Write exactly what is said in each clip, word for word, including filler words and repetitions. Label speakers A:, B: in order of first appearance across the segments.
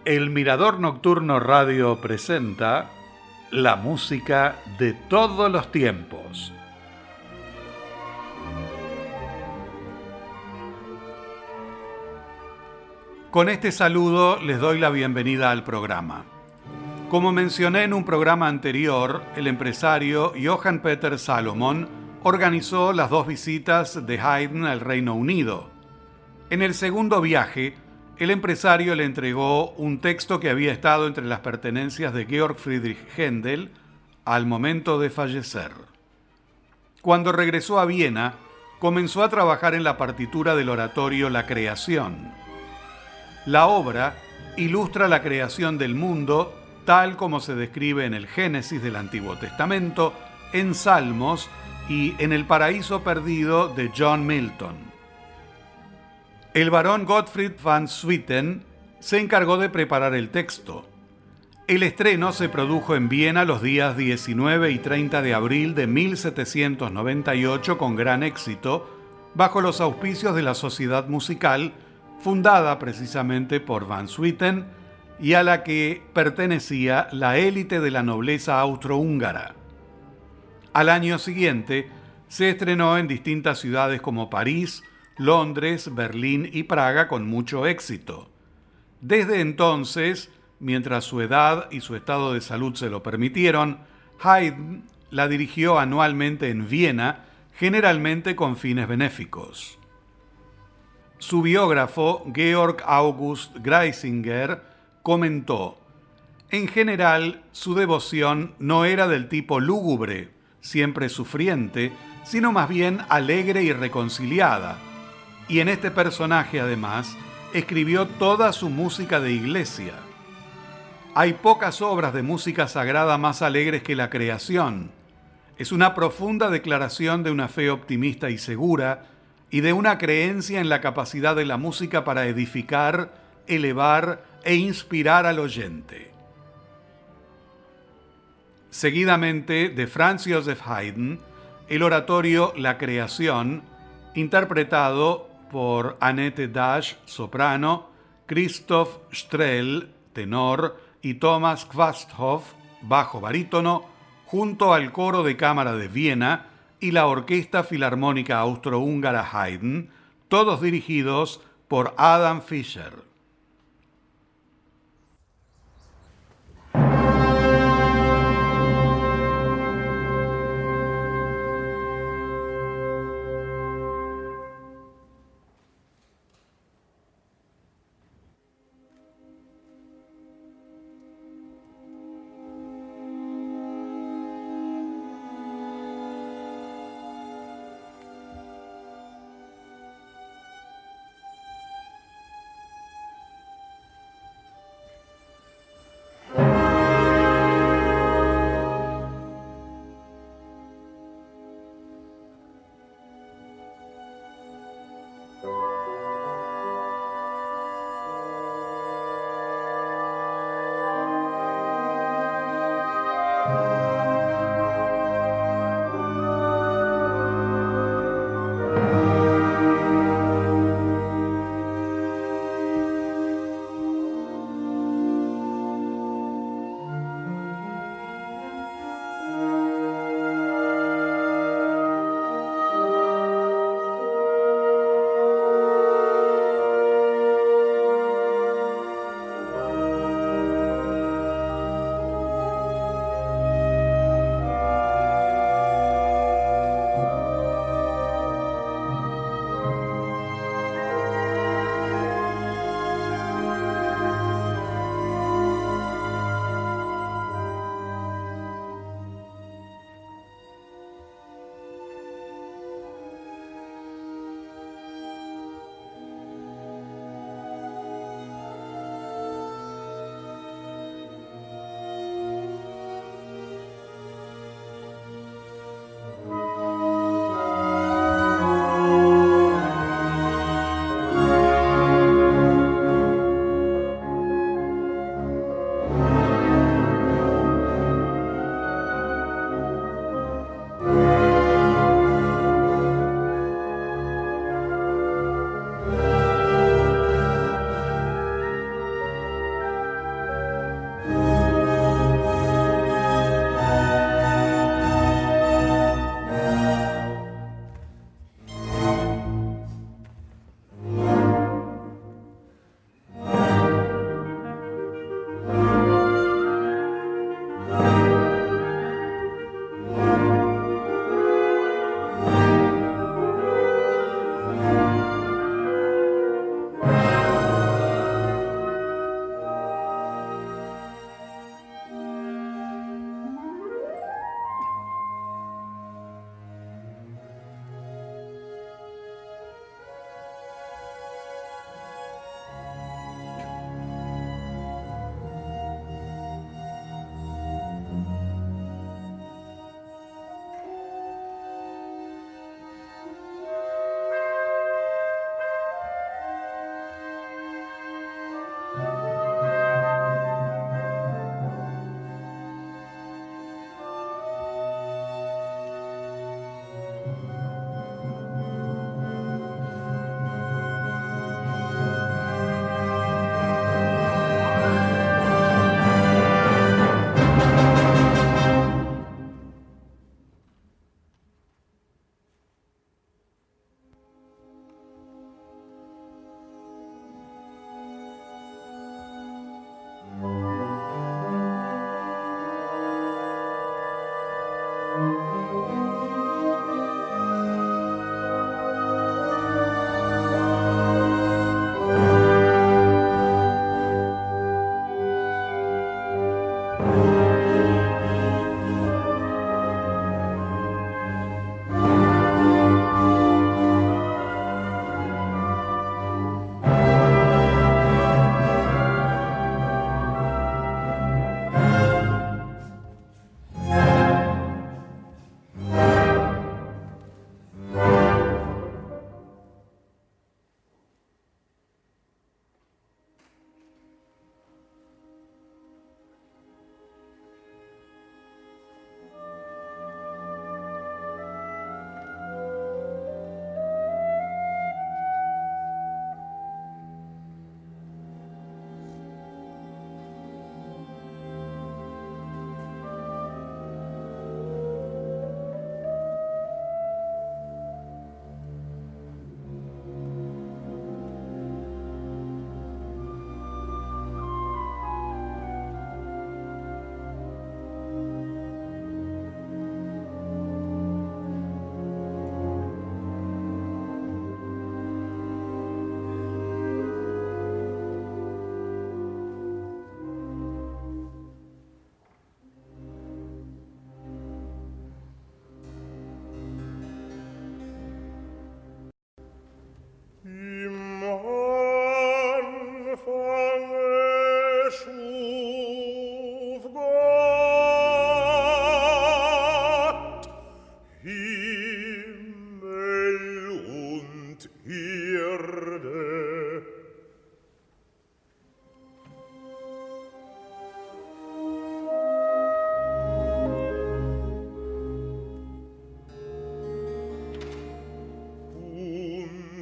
A: El Mirador Nocturno Radio presenta la música de todos los tiempos. Con este saludo les doy la bienvenida al programa. Como mencioné en un programa anterior, el empresario Johann Peter Salomon organizó las dos visitas de Haydn al Reino Unido. En el segundo viaje, el empresario le entregó un texto que había estado entre las pertenencias de Georg Friedrich Händel al momento de fallecer. Cuando regresó a Viena, comenzó a trabajar en la partitura del oratorio La Creación. La obra ilustra la creación del mundo tal como se describe en el Génesis del Antiguo Testamento, en Salmos y en El Paraíso Perdido de John Milton. El barón Gottfried van Swieten se encargó de preparar el texto. El estreno se produjo en Viena los días diecinueve y treinta de abril de mil setecientos noventa y ocho con gran éxito, bajo los auspicios de la Sociedad Musical, fundada precisamente por van Swieten y a la que pertenecía la élite de la nobleza austrohúngara. Al año siguiente, se estrenó en distintas ciudades como París, Londres, Berlín y Praga con mucho éxito. Desde entonces, mientras su edad y su estado de salud se lo permitieron, Haydn la dirigió anualmente en Viena, generalmente con fines benéficos. Su biógrafo, Georg August Greisinger, comentó: en general, su devoción no era del tipo lúgubre, siempre sufriente, sino más bien alegre y reconciliada. Y en este personaje, además, escribió toda su música de iglesia. Hay pocas obras de música sagrada más alegres que La Creación. Es una profunda declaración de una fe optimista y segura y de una creencia en la capacidad de la música para edificar, elevar e inspirar al oyente. Seguidamente, de Franz Joseph Haydn, el oratorio La Creación, interpretado por Annette Dash, soprano, Christoph Strel, tenor, y Thomas Quasthoff, bajo barítono, junto al coro de cámara de Viena y la Orquesta Filarmónica Austrohúngara Haydn, todos dirigidos por Adam Fischer.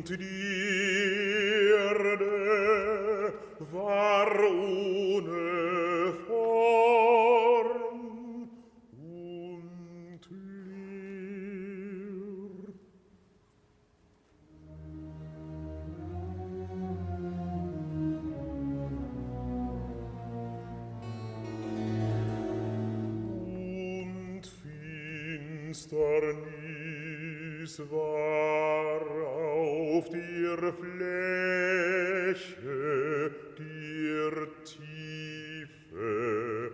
B: Finsternis war auf der Fläche der Tiefe.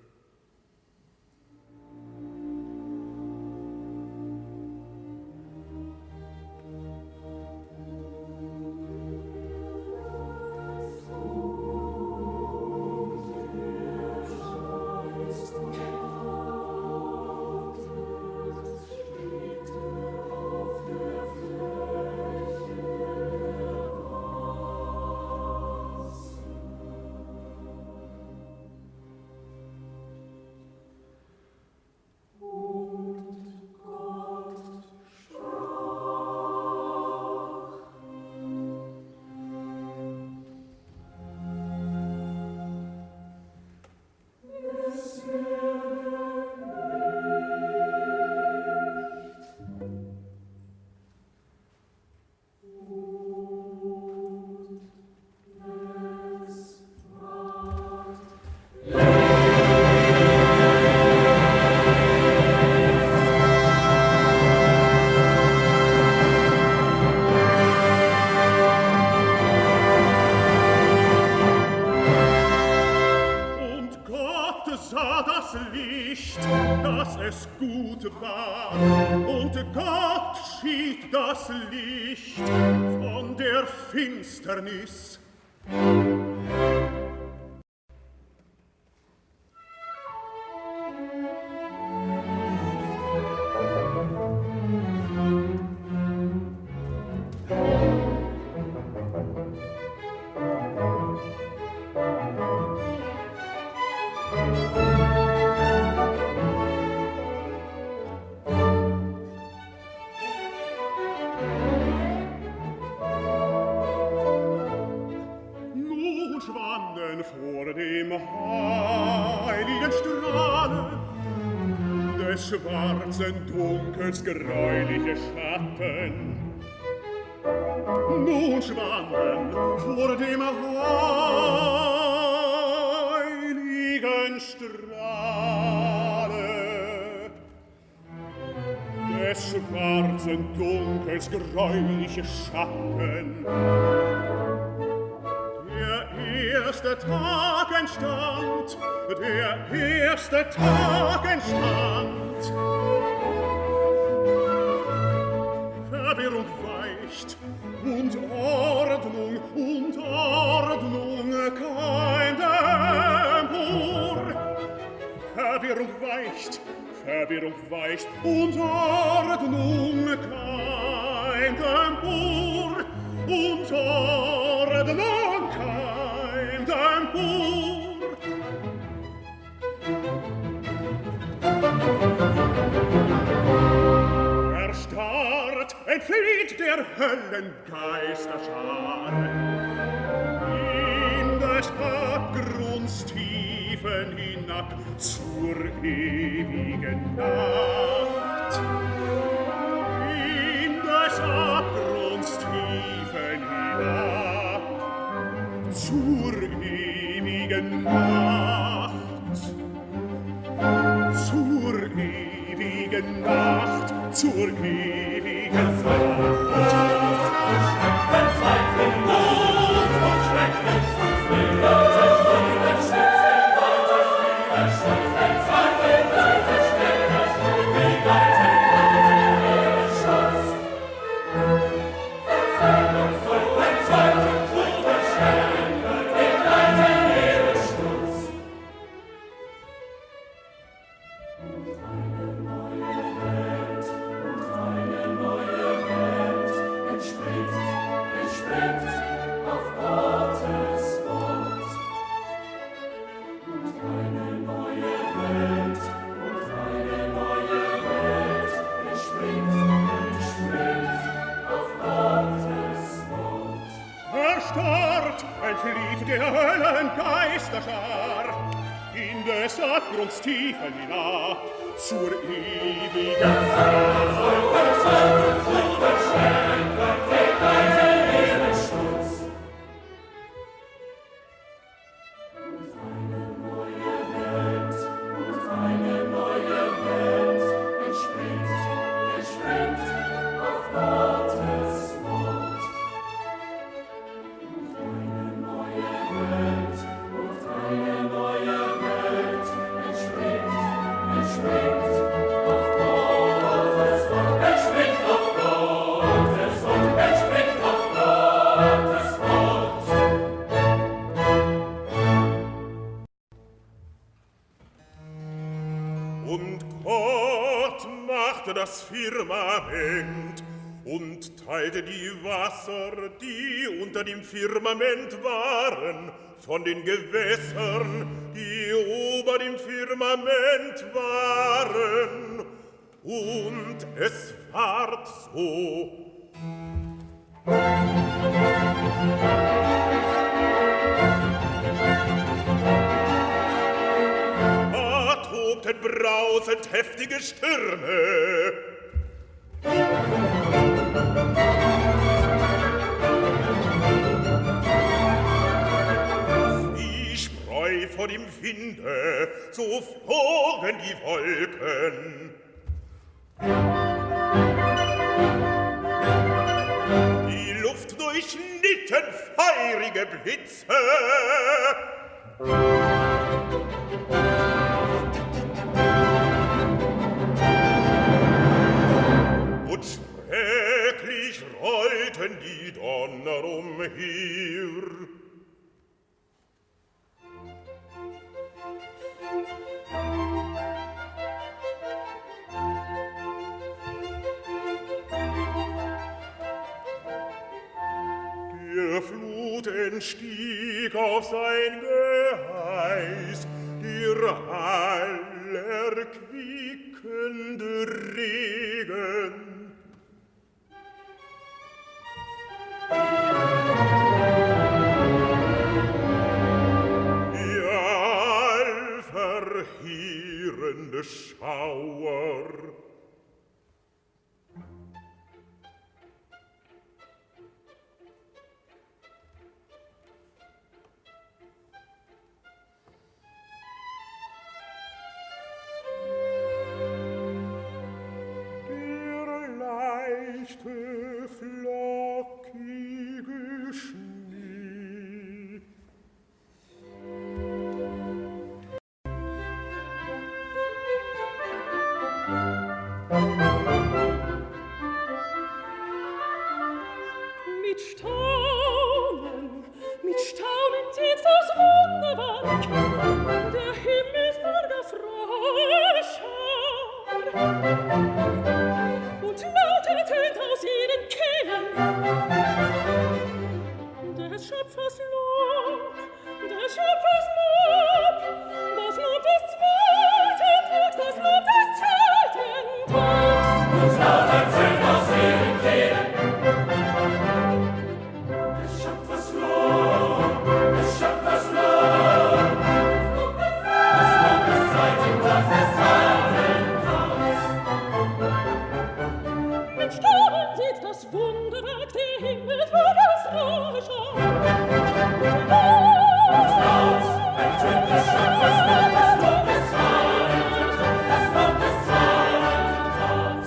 B: Finsternis. Schwarzen Dunkels greuliche Schatten nun schwanden vor dem heiligen Strahle des schwarzen Dunkels greuliche Schatten. Der erste Tag entstand, der erste Tag entstand. Verwirrung weicht und Ordnung und Ordnung kein Empor. Verwirrung weicht, Verwirrung weicht und Ordnung kein Empor. Und Ordnung kein Empor. Erstarrt entflieht der Höllengeisterschar in des Abgrunds Tiefen hinab zur ewigen Nacht. In des Abgrunds Tiefen hinab zur ewigen Nacht. Zur ewigen Nacht, zur ewigen Nacht. Verzweiflung, Not und Schrecken, Gottes scharen Geisterschar in des Abgrunds Tiefen hinab zur ewigen Fahrt. Das Firmament und teilte die Wasser, die unter dem Firmament waren, von den Gewässern, die ober dem Firmament waren. Und es ward so. Tobten brausend heftige Stürme. Wie Spreu vor dem Winde, so flogen die Wolken. Die Luft durchschnitten feurige Blitze. Und schrecklich rollten die Donner umher. Der Flut entstieg auf sein Geheiß, der allerquickende Regen. Der allverheerende Schauer. Flockige Schnee.
C: Mit Staunen, mit Staunen sieht das Wunderwerk der Himmelsbürger Fröscher. Und lauter tönt aus ihren Kehlen des Schöpfers Lob, des Schöpfers Lob, das Lob des zweiten Tags, das Lob des zweiten Tags. Und lauter tönt aus ihren Kehlen des Schöpfers Lob, des Schöpfers Lob, das Lob des zweiten Tags, des zweiten Tags. Mit Staunen sieht das Wunderwerk der Himmelsbürger Fröscher. Und laut ertönt des Schöpfers Lob, das Lob des zweiten Tags, das Lob des zweiten Tags.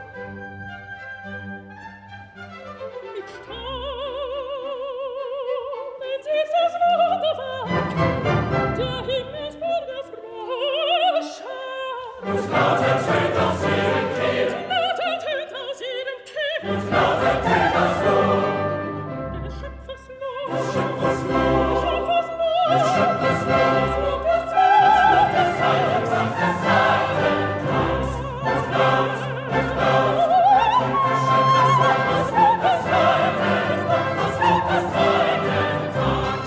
C: Mit Staunen sieht das Wunderwerk der Himmelsbürger Fröscher. Und laut ertönt aus ihren Kehlen, und lauter tönt das Lob, des Schöpfers Lob, des Schöpfers Lob, des Schöpfers Lob, des Lob des zweiten Tags, des zweiten Tags. Und laut, und laut, des Schöpfers Lob, das Lob des zweiten Tags, das Lob des zweiten Tags.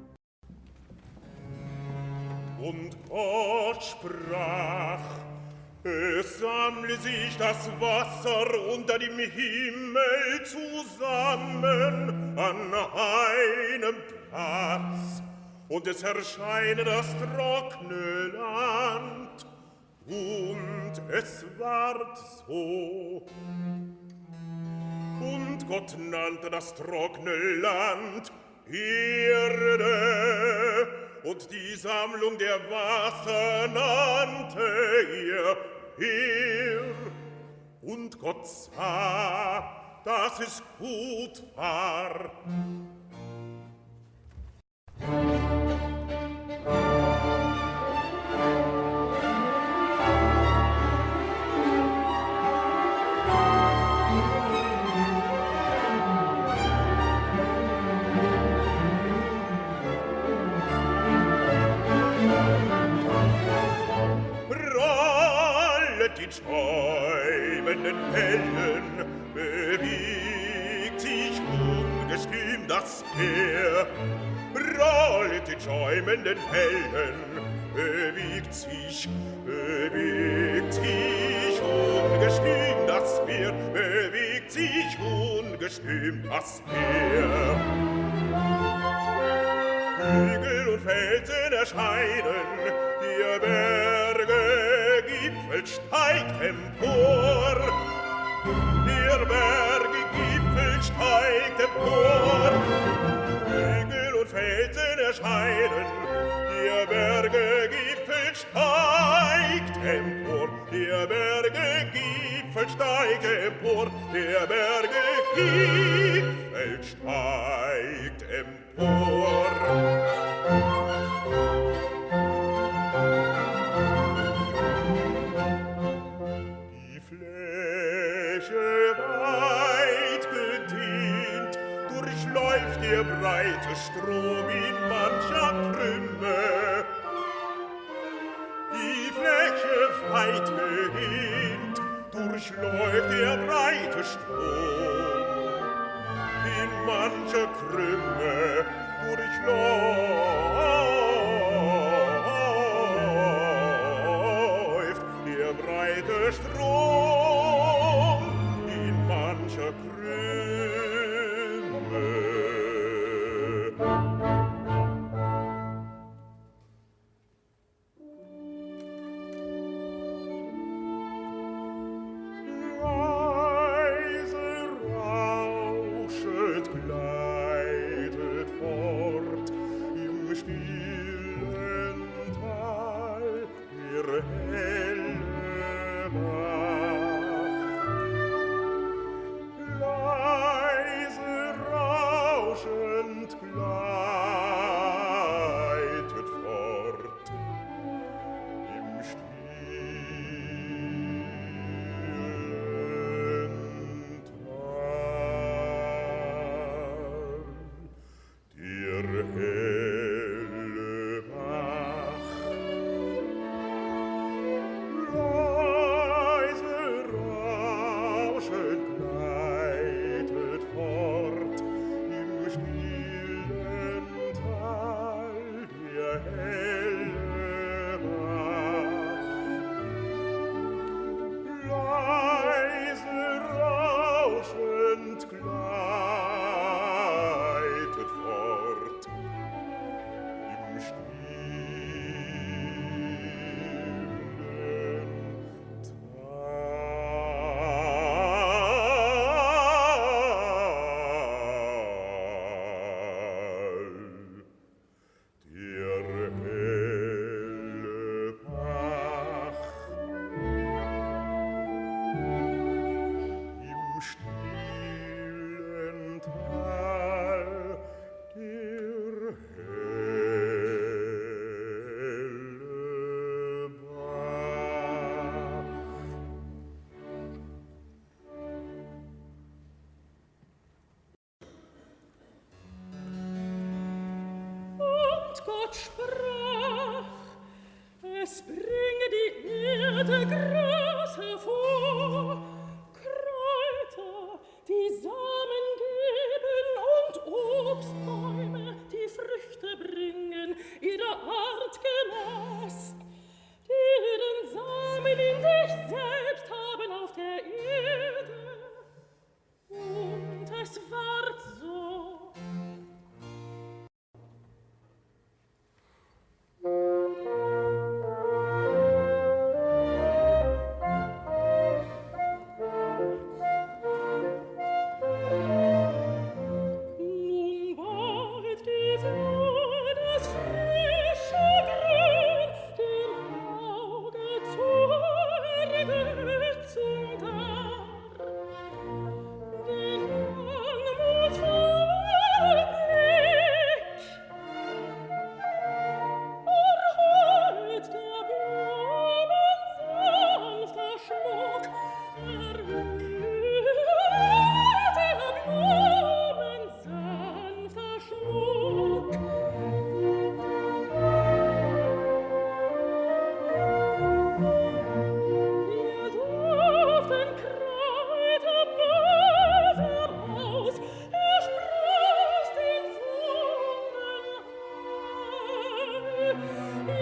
C: Und Gott sprach:
B: Es sammle sich das Wasser unter dem Himmel zusammen an einem Platz, und es erscheine das trockene Land, und es ward so. Und Gott nannte das trockene Land Erde, und die Sammlung der Wasser nannte er Meer. Und Gott sah, dass es gut war. Die träumenden Wellen bewegt sich ungestüm das Meer. Rollt die träumenden Wellen, bewegt sich, bewegt sich ungestüm das Meer, bewegt sich ungestüm das Meer. Hügel und Felsen erscheinen, die Berge Gipfel steigt empor, der Berge Gipfel steigt empor. Hügel und Felsen erscheinen, der Berge Gipfel steigt empor, der Berge Gipfel steigt empor, der Berge Gipfel steigt empor. Der breite Strom in mancher Krümme, die Fläche weit gedehnt, durchläuft der breite Strom in mancher Krümme, durchläuft der breite Strom in mancher Krümme.
C: Gott sprach, es bringe die Erde Gras hervor, Kräuter, die Samen geben und Obstbäume, die Früchte bringen, ihrer Art gemäß, deren Samen in sich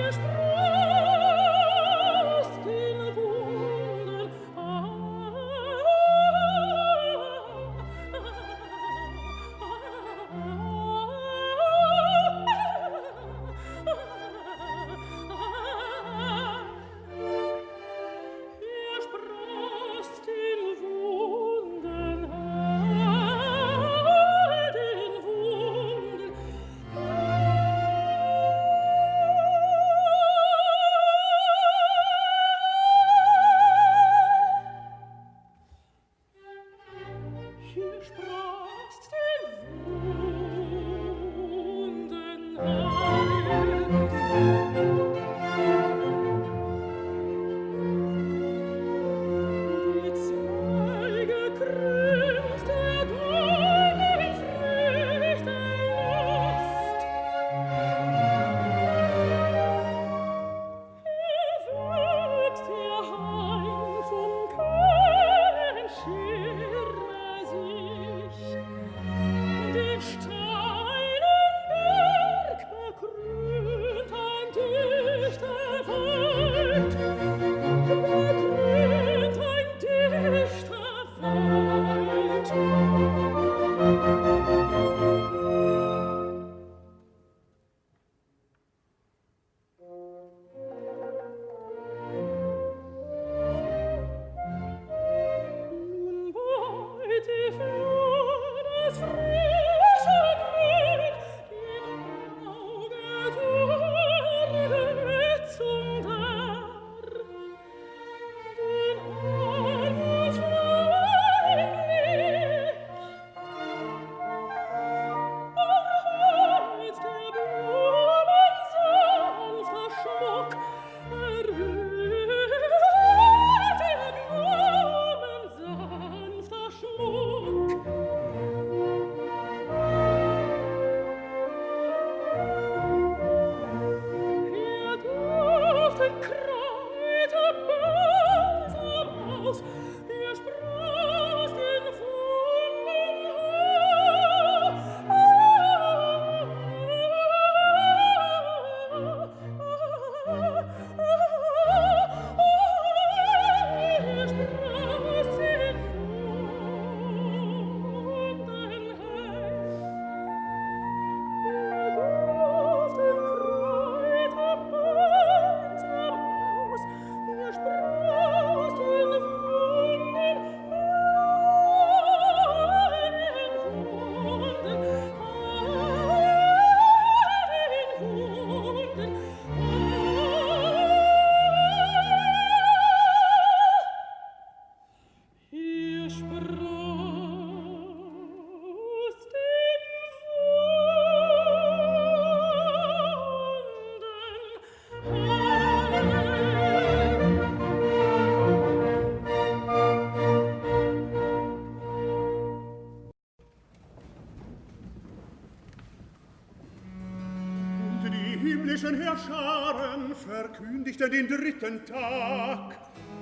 B: himmlischen Herrscharen verkündigte den dritten Tag,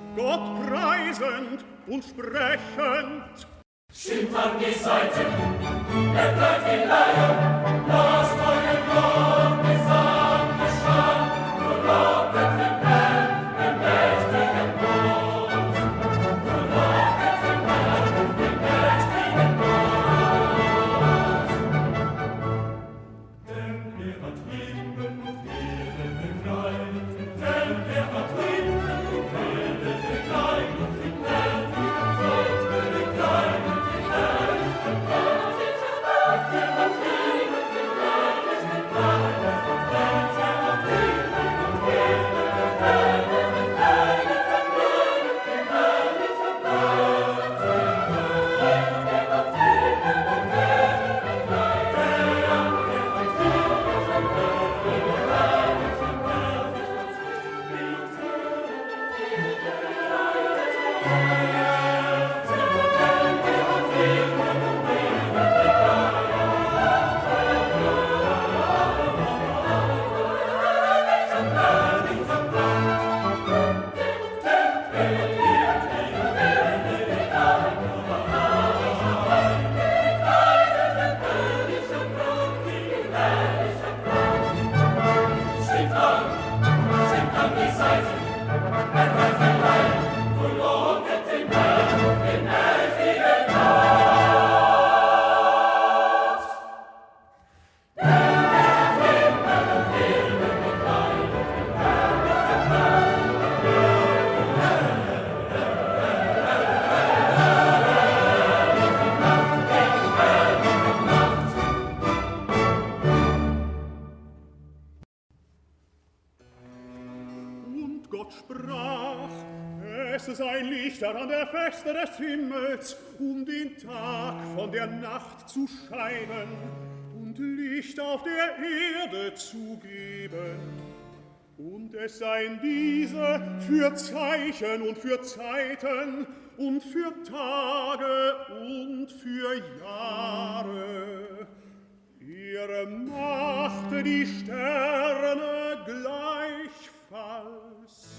B: Gott preisend und sprechend.
C: Schimmern die Seiten, ergreift die Leier, lasst euren Lobgesang erschallen, nur lobet den Herrn, den mächtigen Gott. Nur lobet den Herrn, den mächtigen Gott. Denn er hat Himmel und Erde bekleidet, denn er hat Himmel und Erde bekleidet, den Herrn, den Tod bekleidet. Thank you.
D: An der Feste des Himmels, um den Tag von der Nacht zu scheiden und Licht auf der Erde zu geben. Und es seien diese für Zeichen und für Zeiten und für Tage und für Jahre. Ihre Macht die Sterne gleichfalls.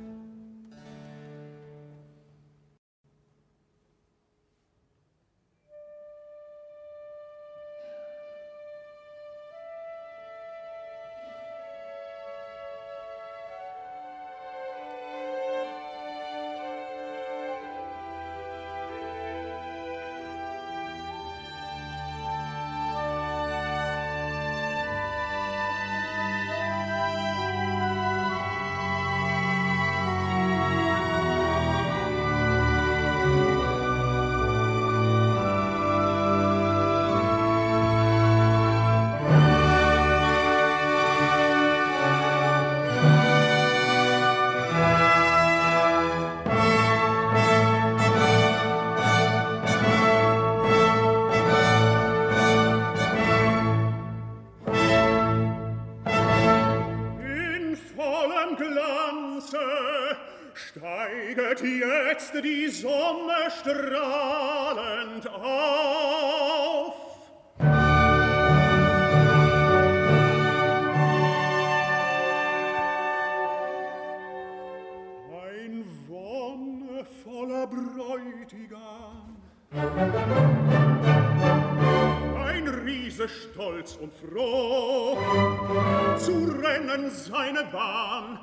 D: Steiget jetzt die Sonne strahlend auf. Ein wonnevoller Bräutigam, ein Riese stolz und froh, zu rennen seine Bahn.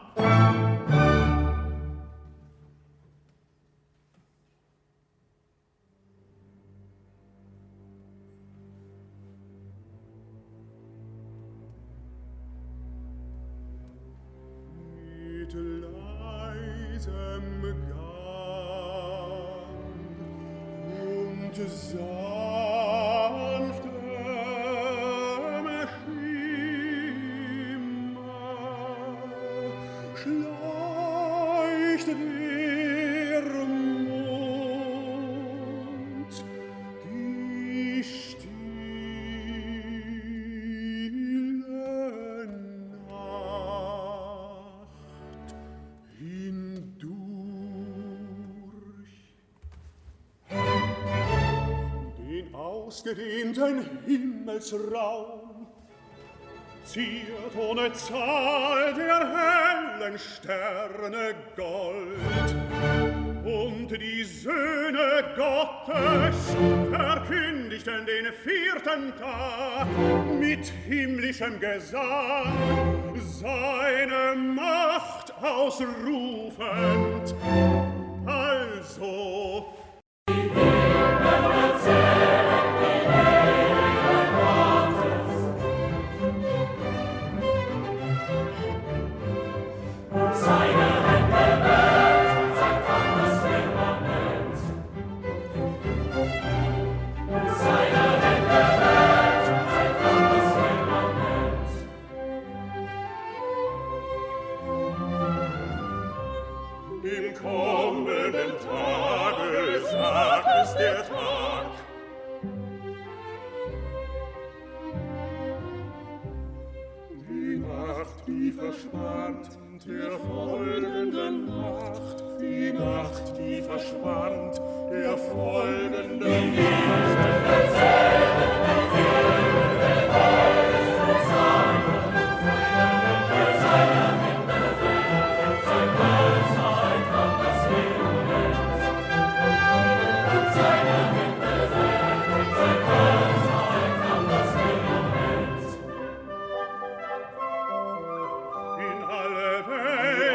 D: Ausgedehnten Himmelsraum ziert ohne Zahl der hellen Sterne Gold, und die Söhne Gottes verkündigten den vierten Tag mit himmlischem Gesang seine Macht ausrufend. Also der Tag. Die Nacht, die verschwand, der folgenden Nacht. Die Nacht, die verschwand, der folgenden Nacht. In alle Welt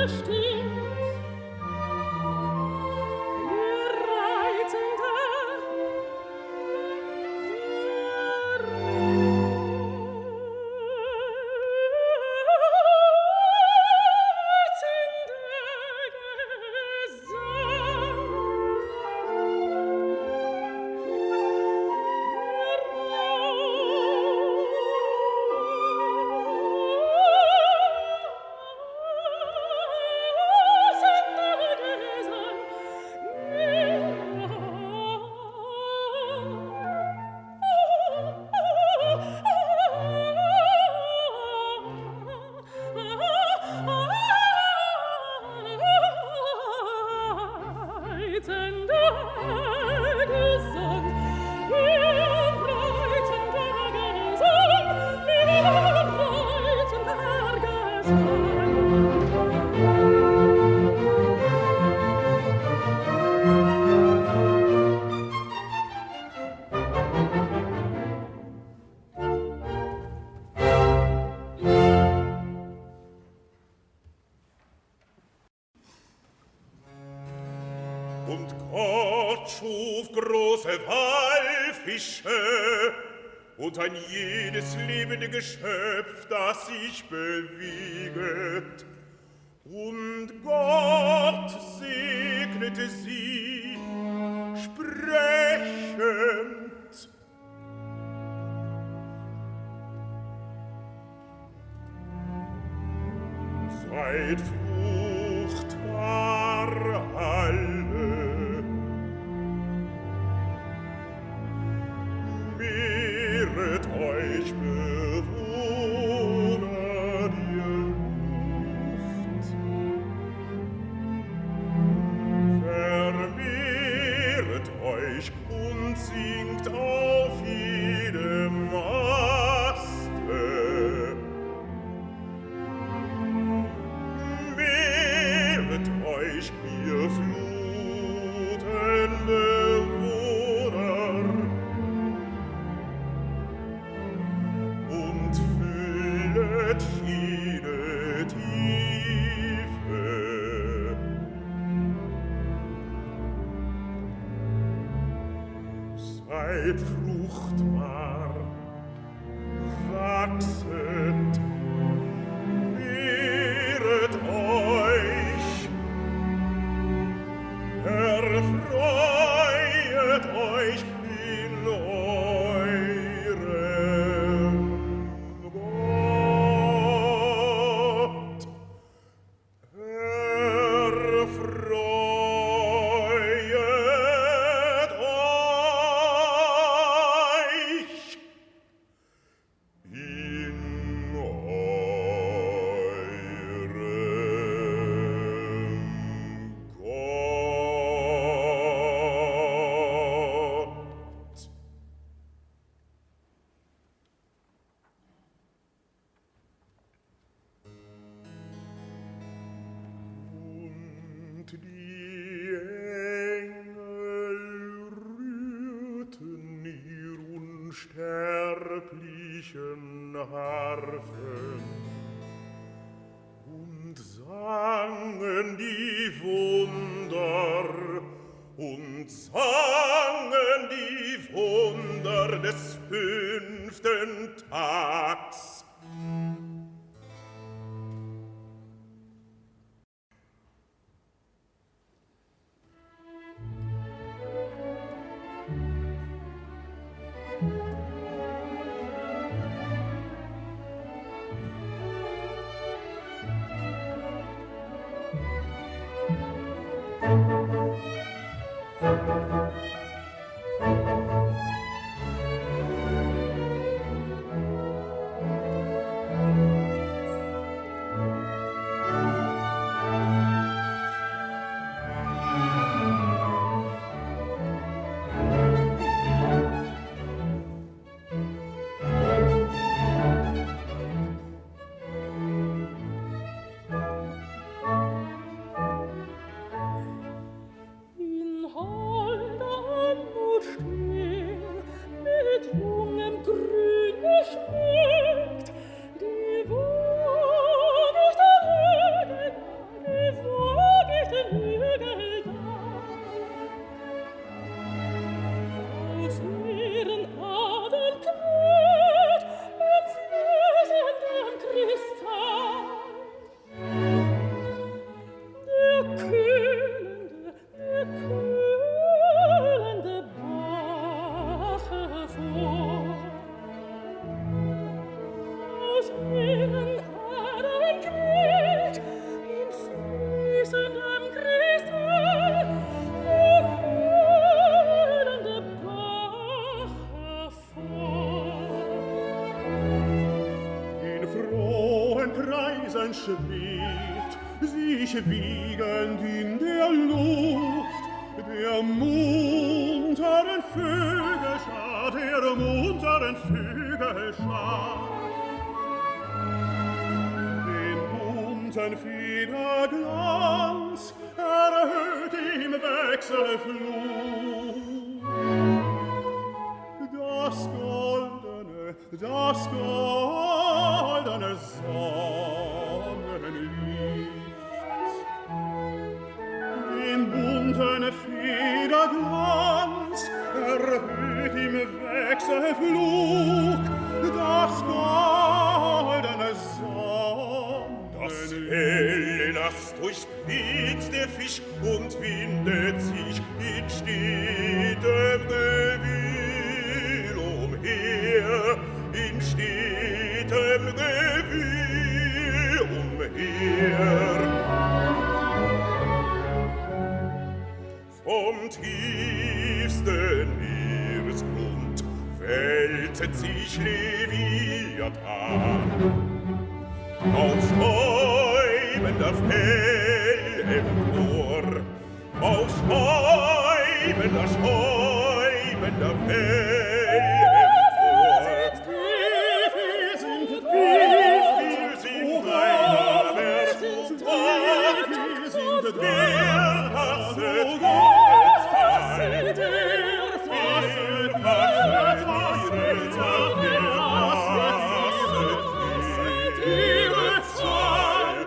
B: Und Gott schuf große Walfische und ein jedes lebende Geschöpf, das sich bewegt. Und Gott segnete sie, sprechend: Seid fruchtbar alle, mehret euch Bewohner der Luft, vermehret euch und singt auf jedem Aste. Mehret euch, ihr Flutenbewohner, und füllet jede Tiefe. Seid fruchtbar, wachset, mehret euch, erfreuet euch in eurem Gott. Erfreuet euch in eurem Gott. Und die Engel rührten ihr unsterblichen Harfen und sangen die Wunder und sangen die Wunder des fünften Tags.
D: schwebt, sich wiegend in der Luft, der munteren Vögelschar, der munteren Vögelschar. Den bunten Federglanz erhöht im Wechselflug. Das goldene, das goldene Sonnenlicht. Den bunten Federglanz erhöht im Wechselflug. Das goldene Sonnenlicht.
B: Das helle Nass durchspitzt der Fisch und windet sich in stetem Gewühl umher, in stetem Gewühl umher. Vom tiefsten Meeresgrund wälzt sich Leviathan. Auf schäumender Fell empor, auf schäumender, schäumender Fell empor.
D: Wir sind tief,
B: Wir sind deiner Welt und Ort,
D: wir sind
B: wir fasset ihre Zeit, wir fasset ihre Zeit, wir fasset ihre Zeit.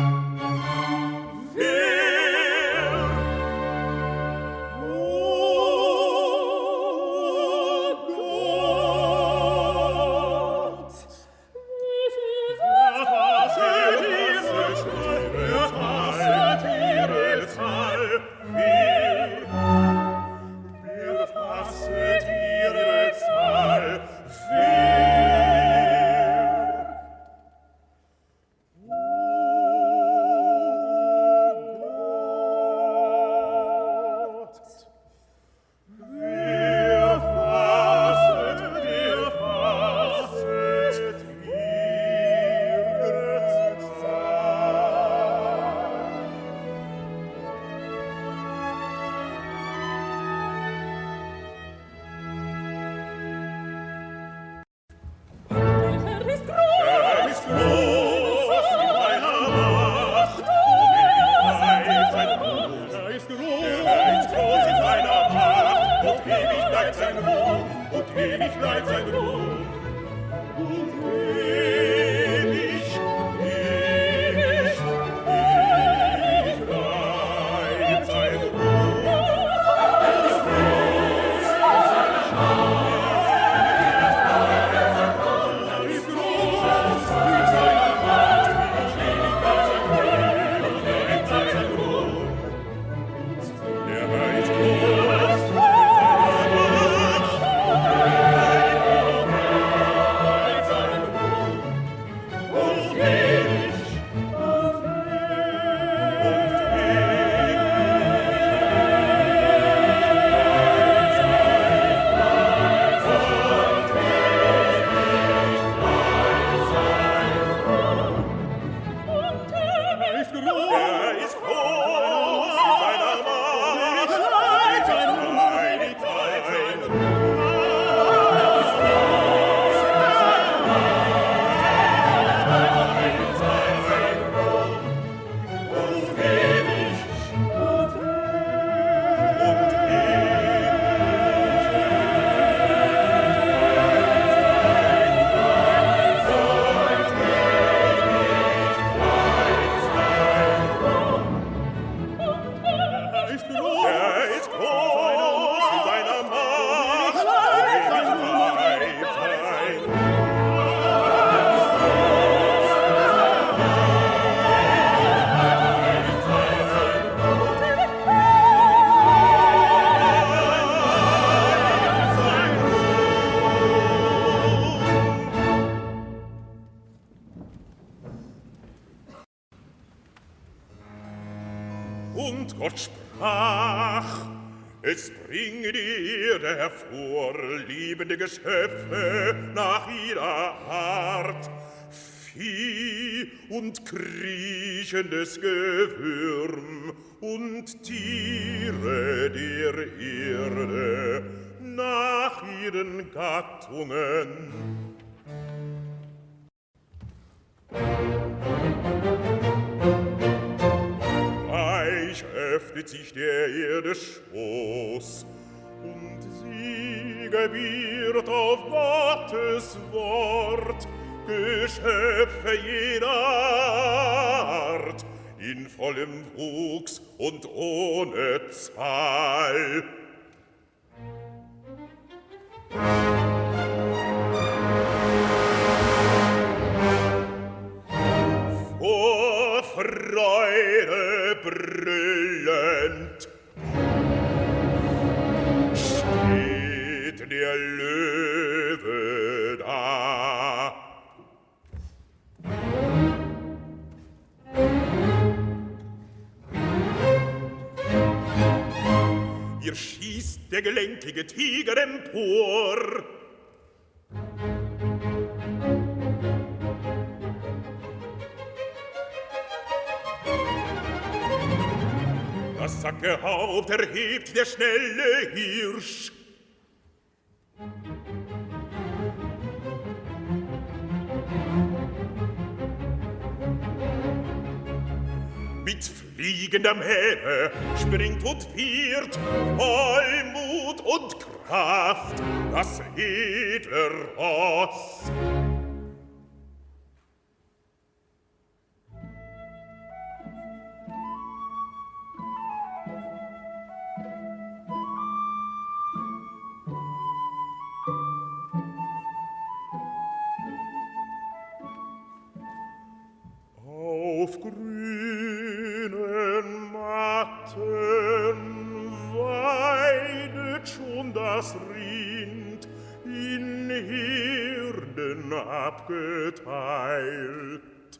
B: Und Gott sprach, es bringe die Erde hervor, liebende Geschöpfe nach ihrer Art, Vieh und kriechendes Gewürm und Tiere der Erde nach ihren Gattungen. Gleich öffnet sich der Erde Schoß, und sie gebiert auf Gottes Wort Geschöpfe jeder Art, in vollem Wuchs und ohne Zahl. Vor Freude brüllend steht der Löwe da. Ihr schießt der gelenkige Tiger empor. Das sacke Haupt erhebt der schnelle Hirsch. Mit fliegender Mähne springt und wiehert, voll Mut und Kraft, das edle Ross. Auf grünen Matten weidet schon das Rind, in Herden abgeteilt.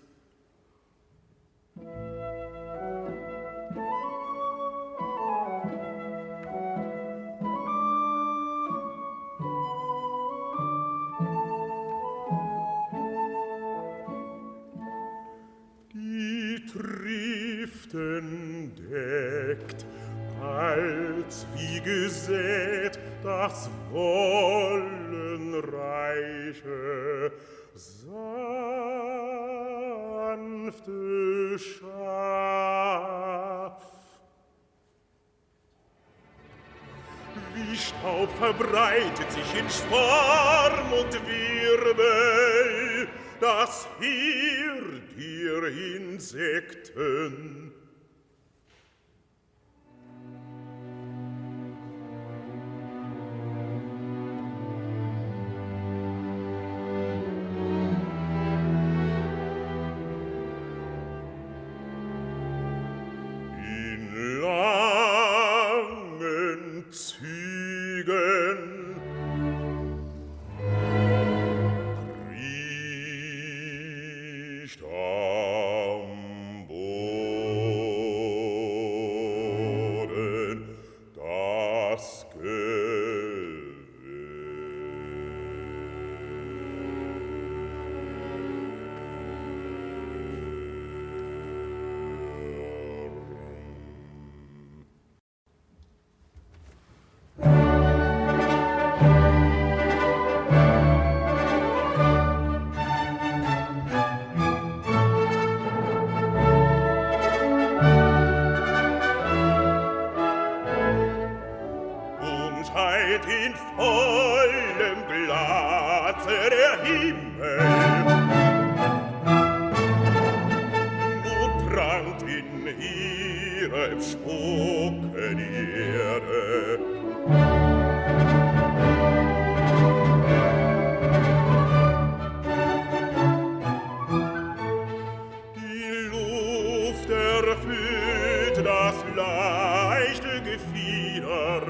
B: Triften deckt, als wie gesät das wollenreiche, sanfte Schaf. Wie Staub verbreitet sich in Schwarm und Wirbel das Heer der Insekten. In langen Zügen am Boden das in vollem Glanze der Himmel. Nun prangt in ihrem Spuke die Erde. Die Luft erfüllt das leichte Gefieder.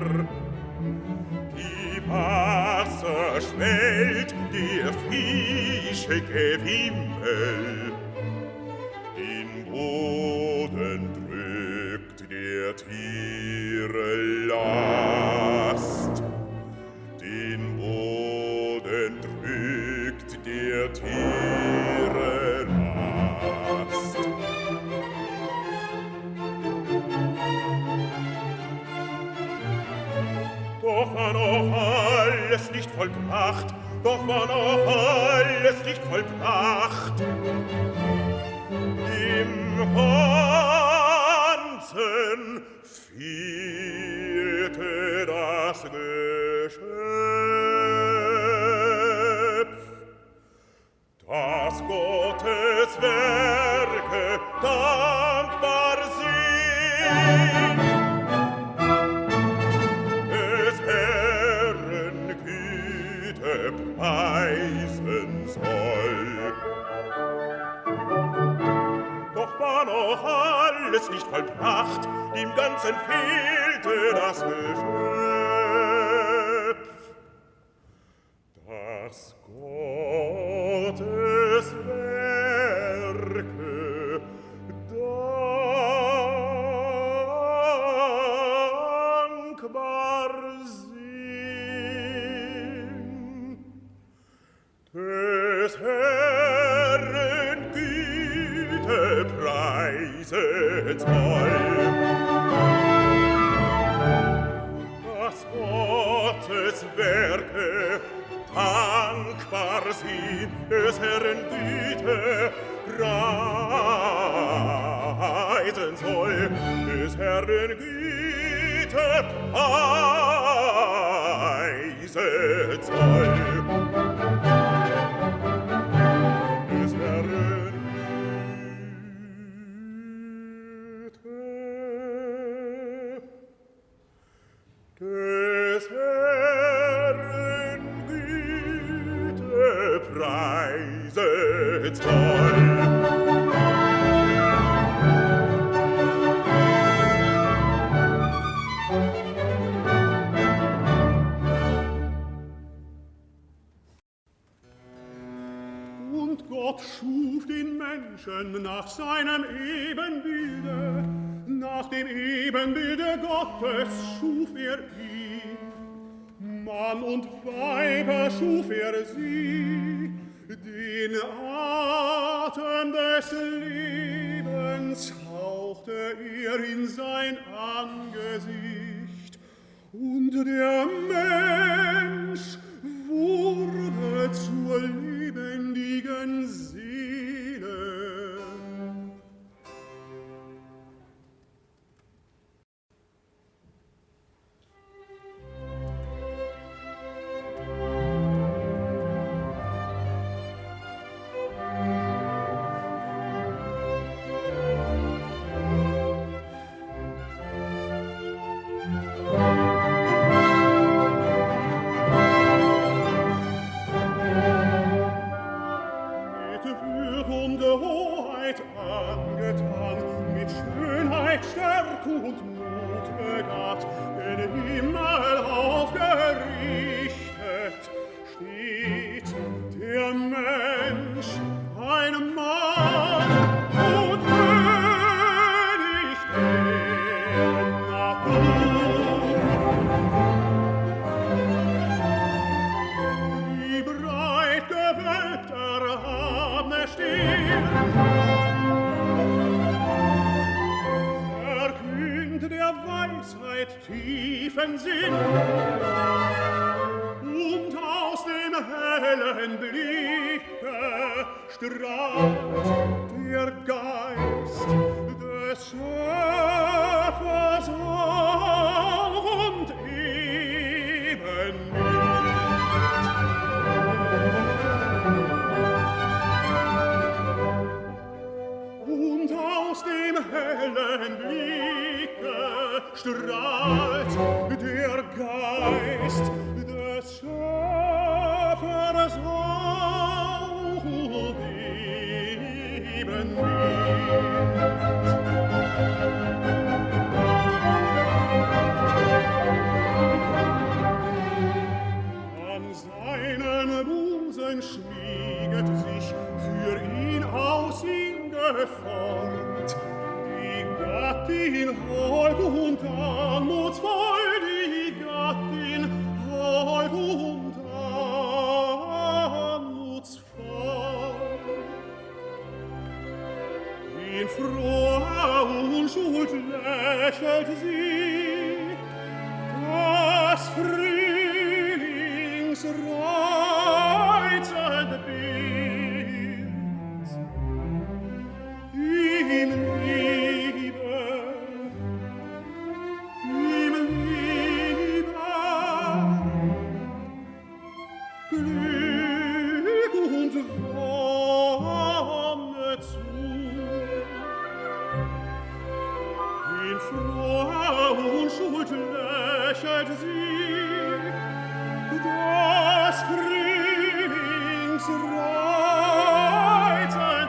B: Wasser schwellt der Fische Gewimmel, den Boden drückt der Tiere Last, den Boden drückt der Tiere war noch alles nicht vollbracht, doch war noch alles nicht vollbracht. Im Ganzen fehlte das Geschöpf, das Gottes Werke dankbar sind, des Herrn Güte preisen soll. Doch war noch alles nicht vollbracht, im Ganzen fehlte das Geschöpf, das Gottes Werke dankbar sind, des Herrn Güte preisen soll. Das Gottes Werke dankbar sind, des Herrn Güte preisen soll, des Herrn Güte preisen soll. Des Herrn Güte, des Herrn Güte preiset soll.
D: Und Gott schuf den Menschen nach seinem Ebenbilde, nach dem Ebenbilde Gottes schuf er ihn. Mann und Weiber schuf er sie, den Atem des Lebens hauchte er in sein Angesicht, und der Mensch wurde zur lebendigen Seele. Angetan, mit Schönheit, Stärke und Mut begabt, den Himmel aufgerichtet, steht der Mensch, ein Mann und König der Natur. Die breit gewölbt erhabene Stirn der Weisheit tiefen Sinn, und aus dem hellen Blicke strahlt der Geist des Schöpfers auf und eben und aus dem hellen Blicke strahlt der Geist des Schöpfers auf und eben an seinen Busen schmieget sich für ihn aus ihm geformt die Gattin hold und anmutsvoll, die Gattin hold und anmutsvoll. In froher Unschuld lächelt sie, das Frieden reizende Bild. Ihm Liebe, ihm Liebe, Glück und Wonne zu. In froher Unschuld lächelt sie, das Frühlingsreizend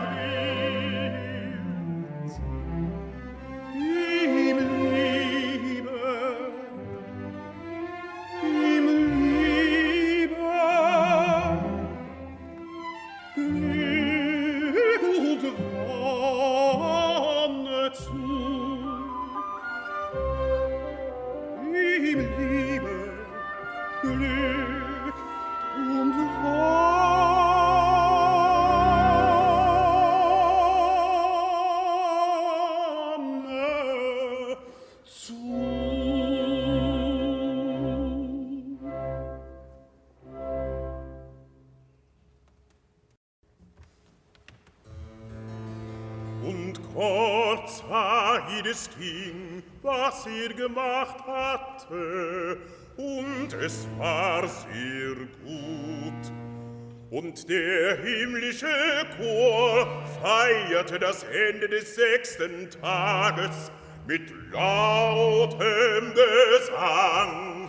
D: Bild. Ihm Liebe, ihm Liebe, Glück und Wonne zu. Ihm Liebe, Glück und Wonne zu.
B: Und kurz Aides ging, was er gemacht hatte, und es war sehr gut. Und der himmlische Chor feierte das Ende des sechsten Tages mit lautem Gesang.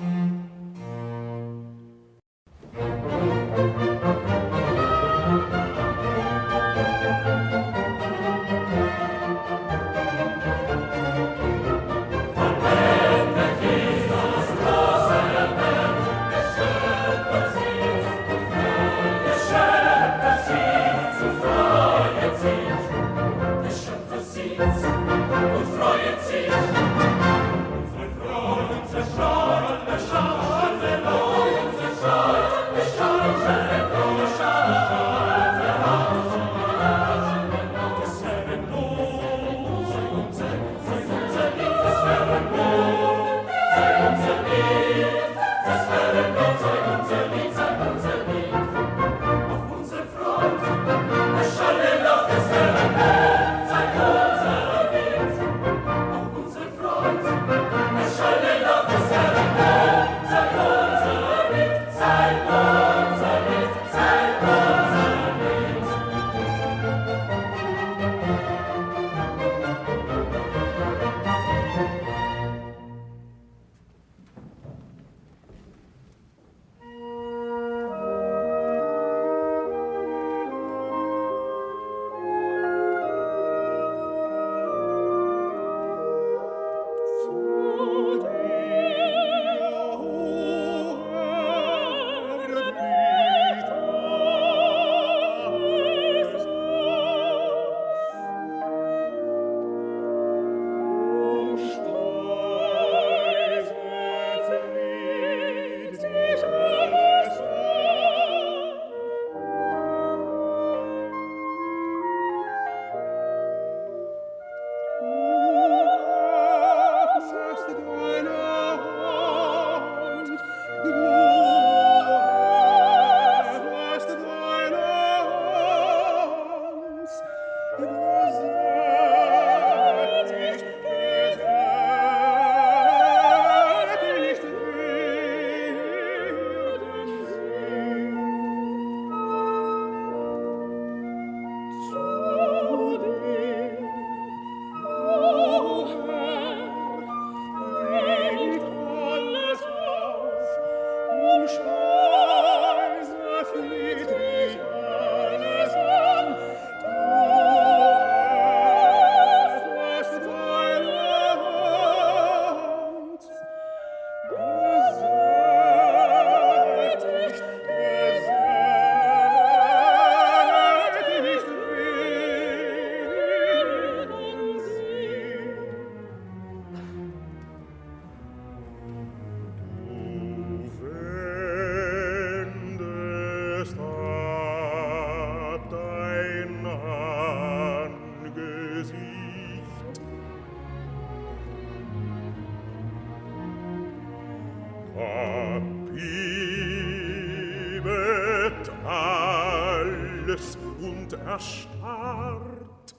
B: und erstarrt.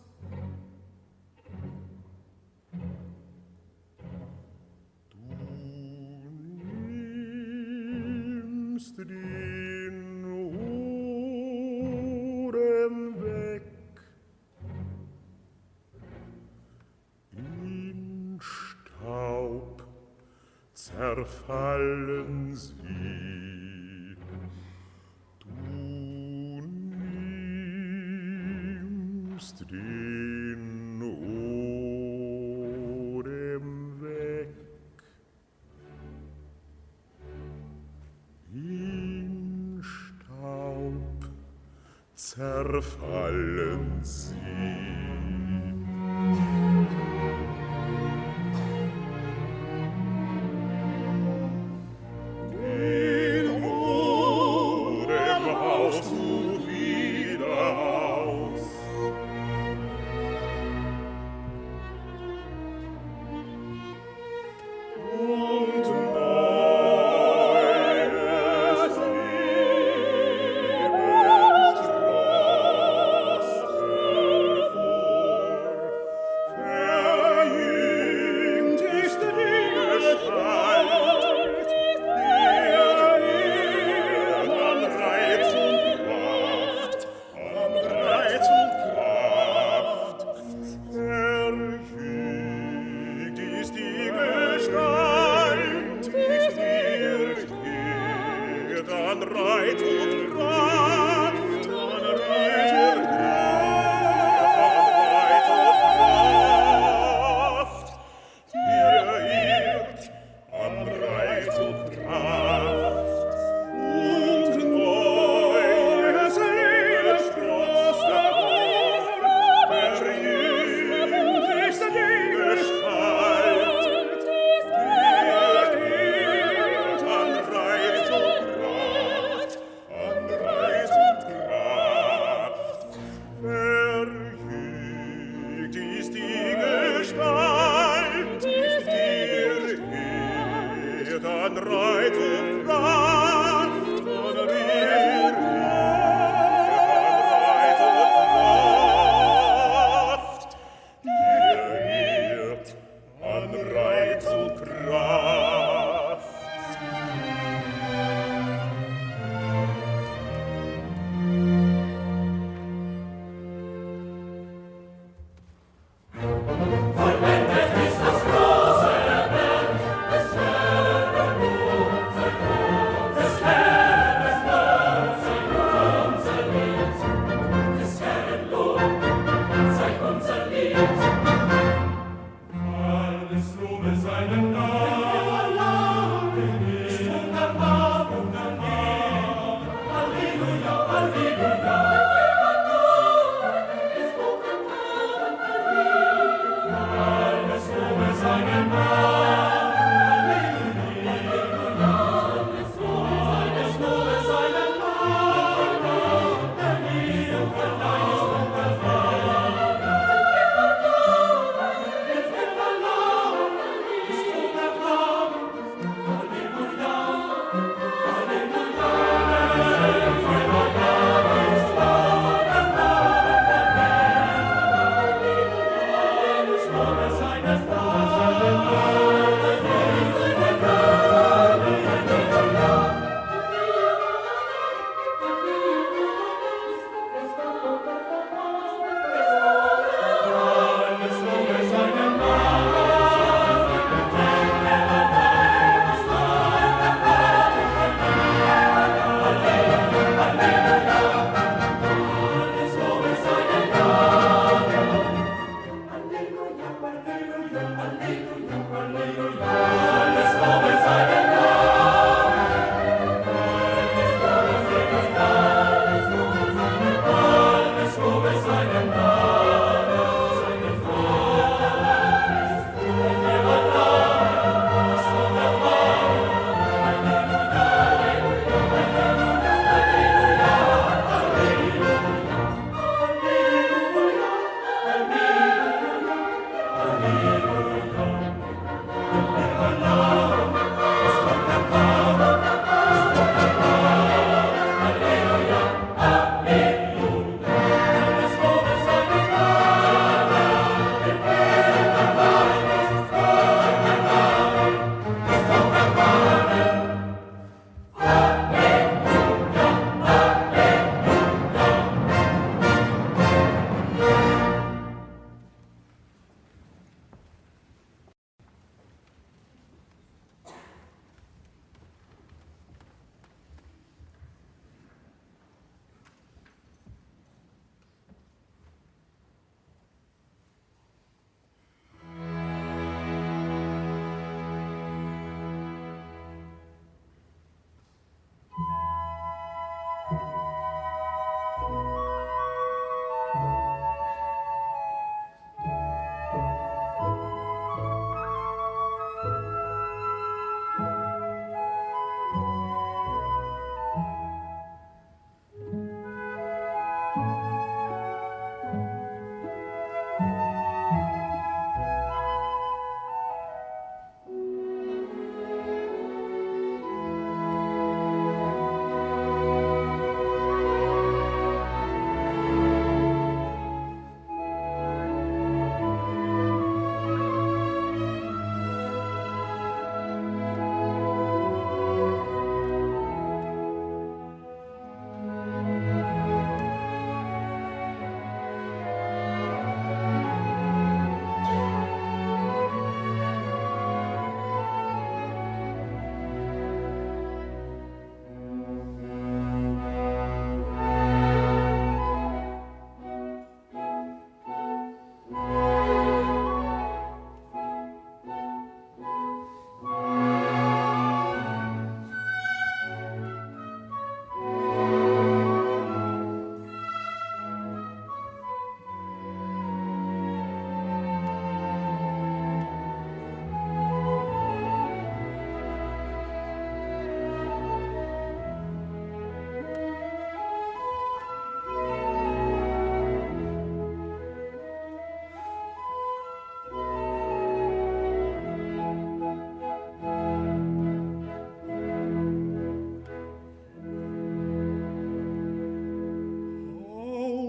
B: Du nimmst den Odem weg, in Staub zerfallen sie. Du nimmst den Odem weg, in Staub zerfallen sie.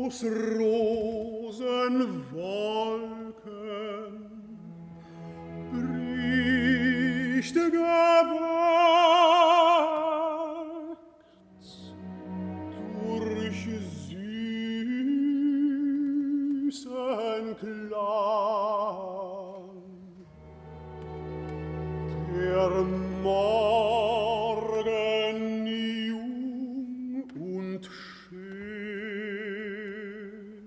D: aus Rosenwolken bricht gewagt durch süßen Klang der Morgen jung und schön.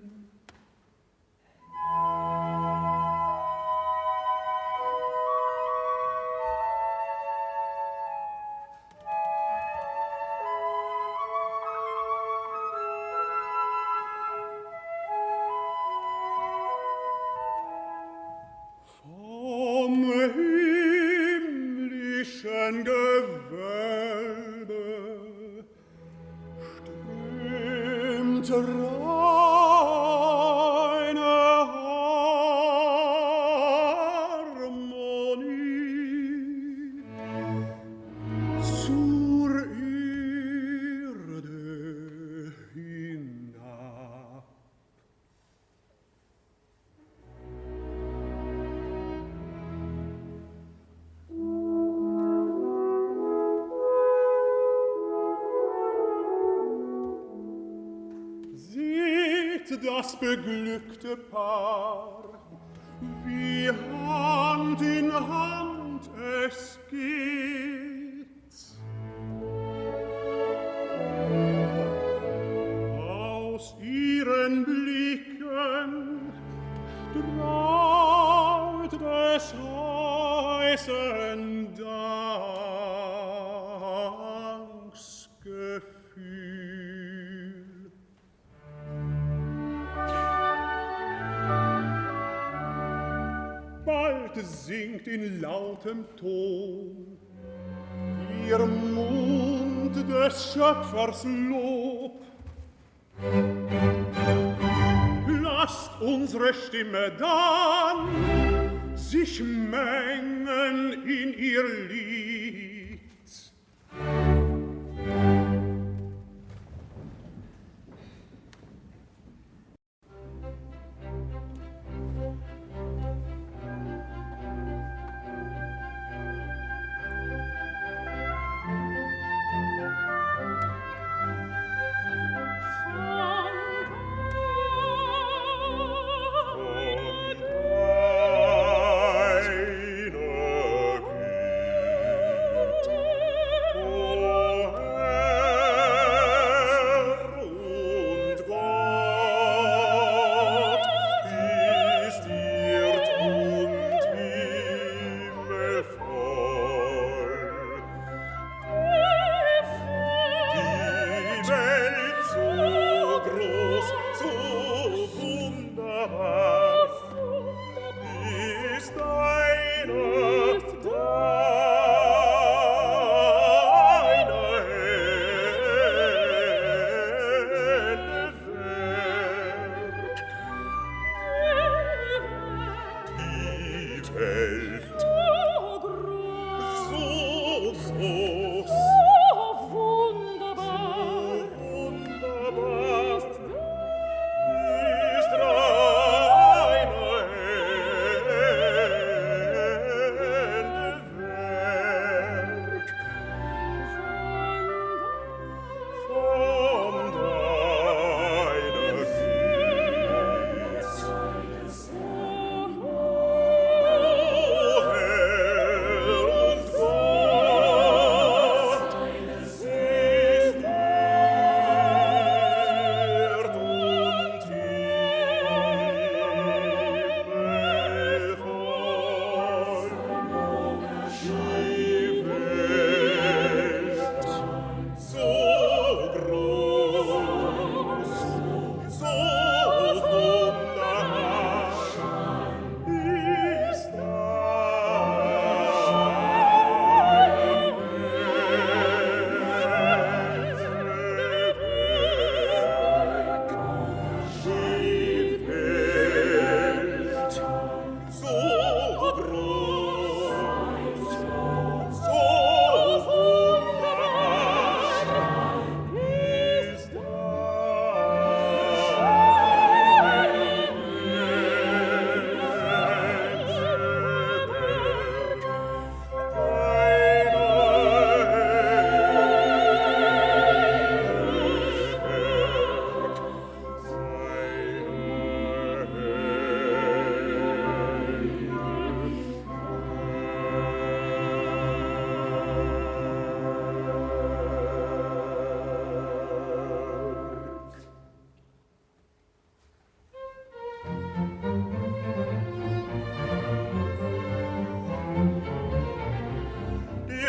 D: Vom himmlischen Gewölbe strömt reine Harmonie zur Erde hinab. Das beglückte Paar, wie Hand in Hand es geht. Aus ihren Blicken strahlt des heißen Danksgefühl. Bald singt in lautem Ton ihr Mund des Schöpfers Lob. Lasst unsere Stimme dann sich mengen in ihr Lied.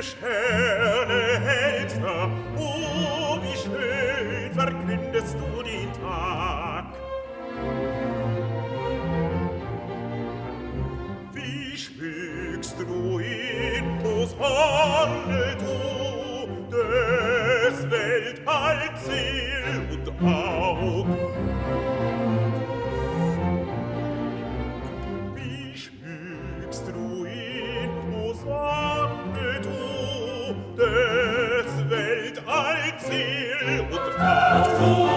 B: vier Sterne hältst da, oh, wie schön verkündest du den Tag. Wie schmückst du ihn, o Sonne, du, des Weltall Seel und Aug. Wie schmückst du ihn, o Sonne, du, des Weltall Seel und Aug.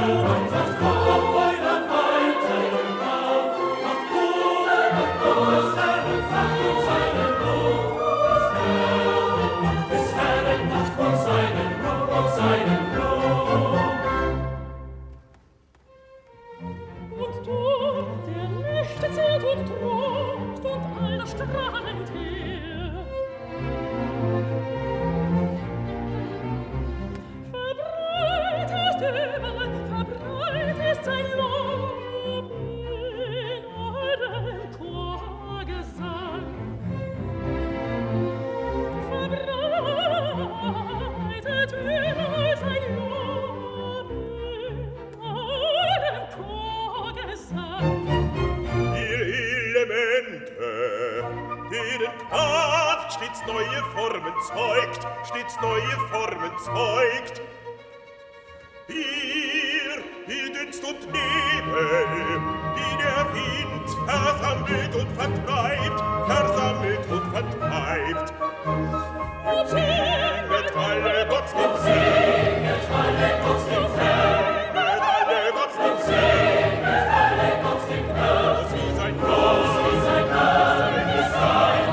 B: Neue Formen zeugt, stets neue Formen zeugt. Hier, hier Dunst und Nebel, die der Wind versammelt und vertreibt, versammelt und vertreibt. Singet alle Gott dem Singet alle Gott dem Singet alle Gott dem Singet alle Gott dem Groß, wie sein Groß, wie sein Groß, wie sein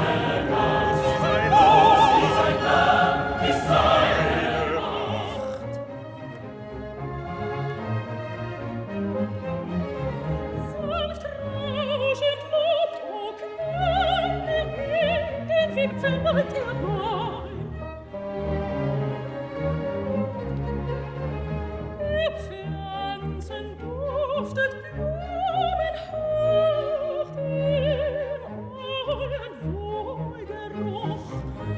B: Verwalt der Bäum. Die Pflanzen duftet Blumen hoch, im allen Wohlgeruch.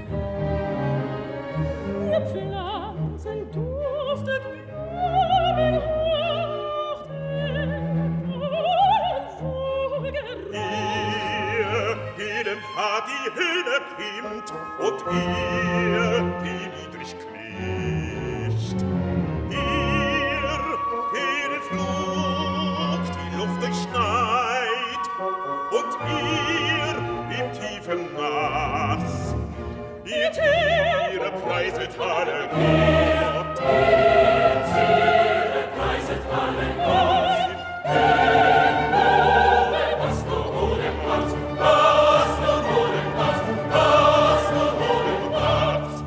B: Die Pflanzen duftet Blumen hoch, im allen Wohlgeruch. Ihr, jedem Pfad die Höhle kimmt, und ihr, die niedrig knicht. Ihr, den Flug die Luft durchschneit, und ihr, im tiefen Nass, ihr Tiere preiset alle Gott. Ihr Tiere preiset alle Gott. Den Blumen, was nur ohne Gott, was nur ohne Gott, was nur ohne Gott.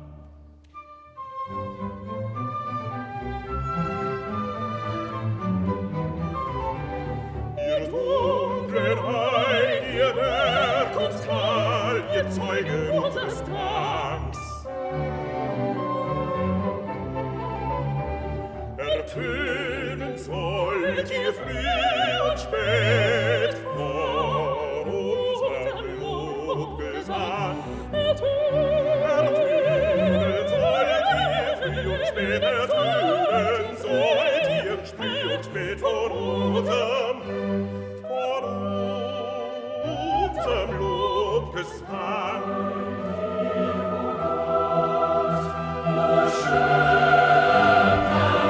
B: Ihr dunklen Rhein, ihr Berg und Tal, ihr Zeugen unseres Danks, ertönen sollt ihr früh und spät vor unserem Lobgesang. Ertönen sollt ihr früh und spät, ertönen sollt ihr früh und spät vor unserem, vor unserem Lobgesang. O Schöpfer,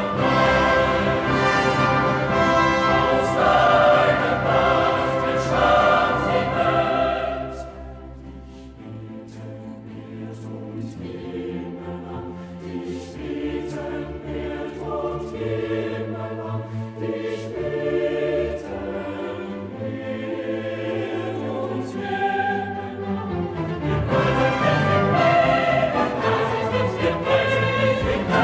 B: aus deiner Macht entstand die Welt. Dich beten Bild und Himmelland, dich beten Bild und Himmelland. Wir preisen dich, wir preisen dich, wir preisen dich, wir preisen dich.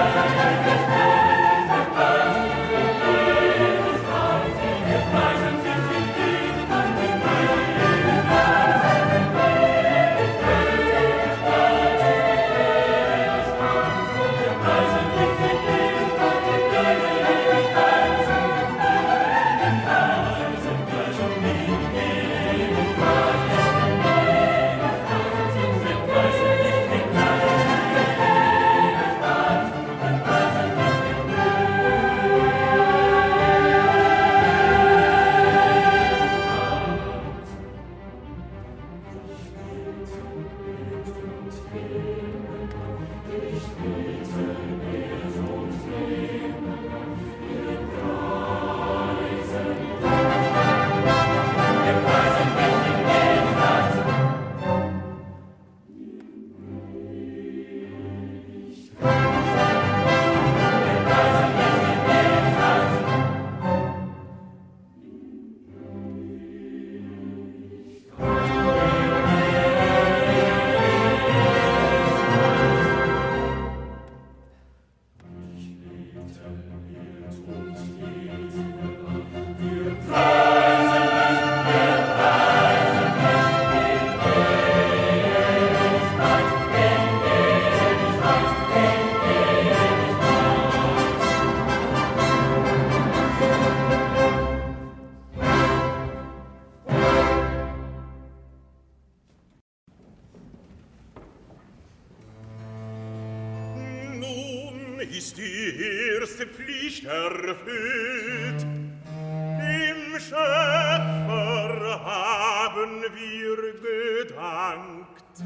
D: ist die erste Pflicht erfüllt. Dem Schöpfer haben wir gedankt.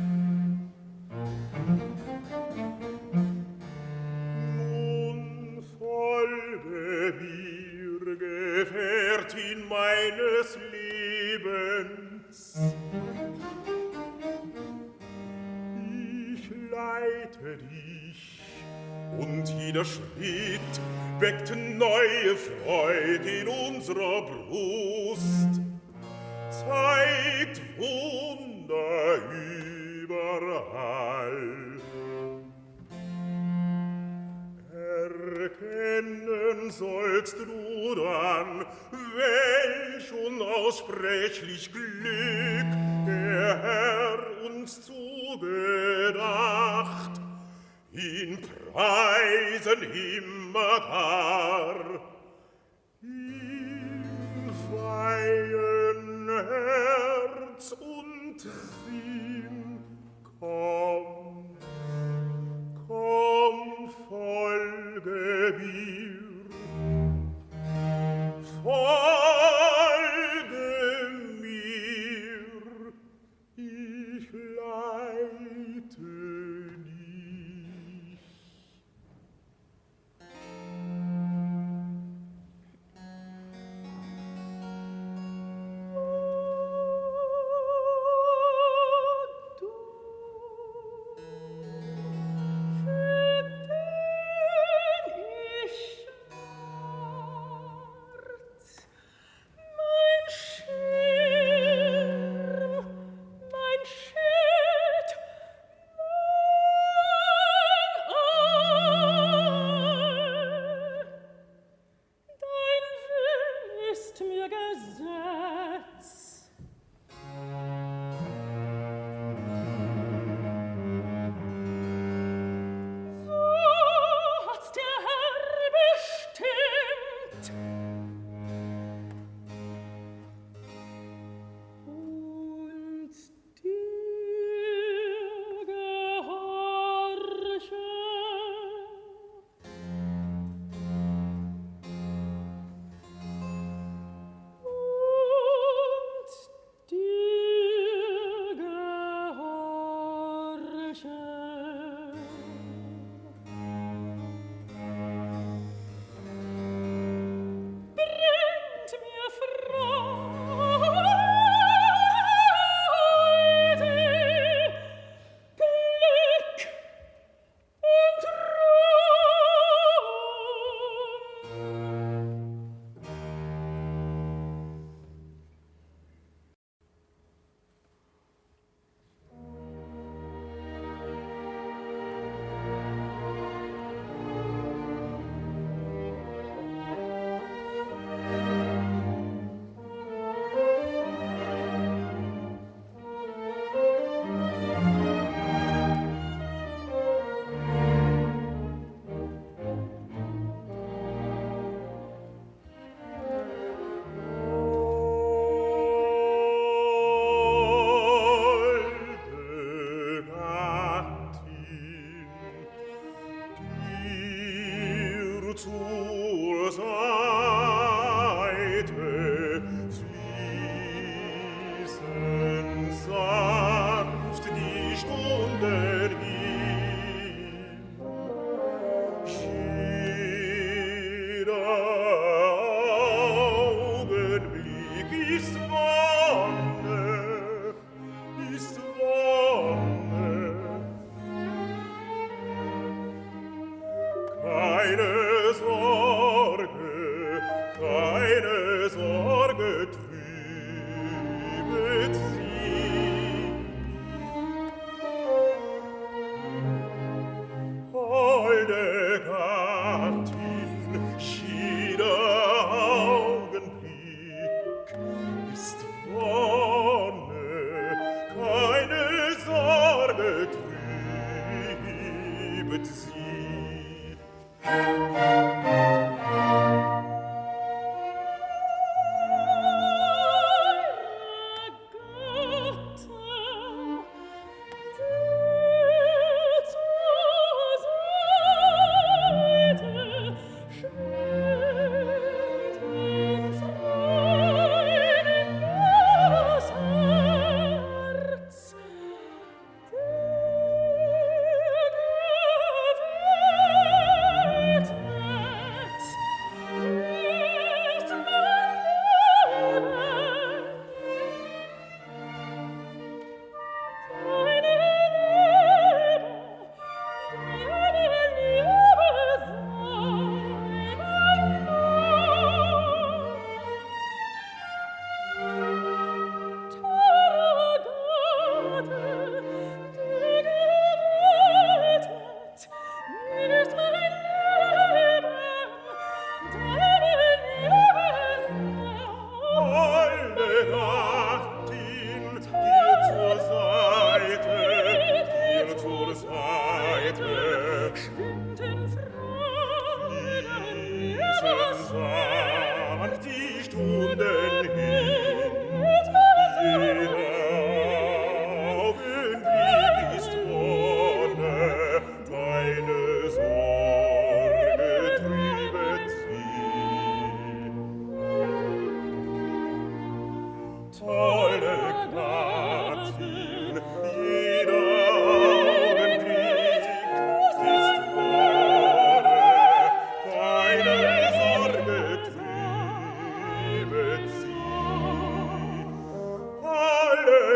D: Nun folge mir, Gefährtin meines Lebens. Ich leite dich, und jeder Schritt weckt neue Freude in unserer Brust, zeigt Wunder überall. Erkennen sollst du dann, welch unaussprechlich Glück der Herr uns zugedacht, ihn preisen immerdar, ihn weihen Herz und Sinn. Komm, komm, folge mir, folge mir, ich leite dich.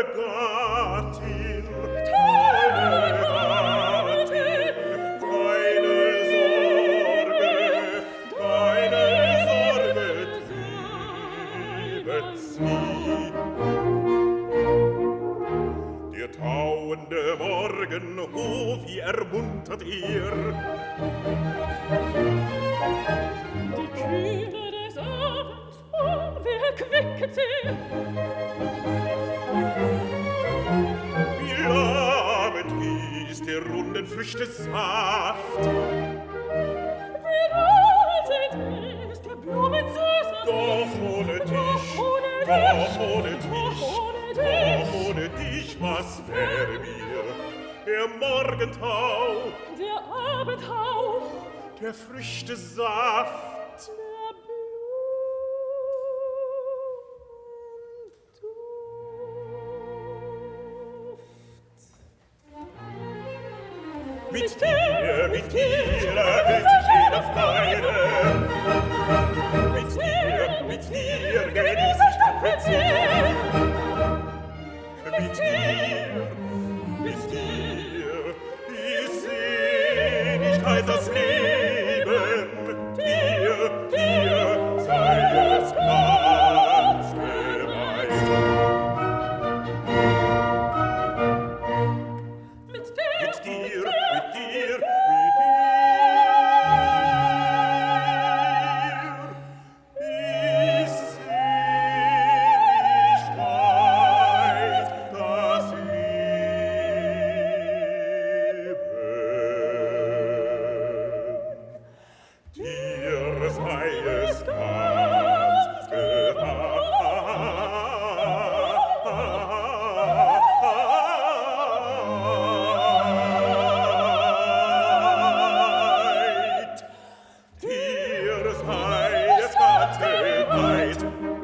D: Gattin, tolle Gattin, keine Sorge, keine Sorge, triebet sie. Der tauende Morgen, oh, wie ermuntert ihr!
C: Die Kühle des Abends, oh, wer erquicket sie!
D: Wie labend ist der runden Früchte Saft!
C: Wie reizend ist der Blumen Süß!
D: Doch ohne dich,
C: Doch ohne
D: doch
C: dich,
D: ohne dich,
C: doch ohne
D: doch
C: dich.
D: ohne dich, was wäre mir? Der Morgentau,
C: Der Abendhauch,
D: der Früchte Saft.
C: der Blumenduft.
D: Mit dir, mit dir erhält sich jeder Freude. Mit dir, mit dir genieß ich Tapezier. Mit dir, mit dir ist Seligkeit das Leben. Dir, dir sei es ganz geweiht.
C: Mit dir,
D: Mit dir, mit dir, mit dir ist Seligkeit das Leben. Dir sei es ganz geweiht. Dir sei es ganz geweiht.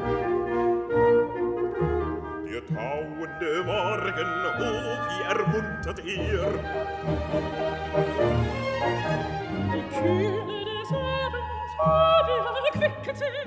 D: Der tauende Morgen, oh, wie ermuntert ihr!
C: die Kühle des Abends, oh, wie erquicket sie!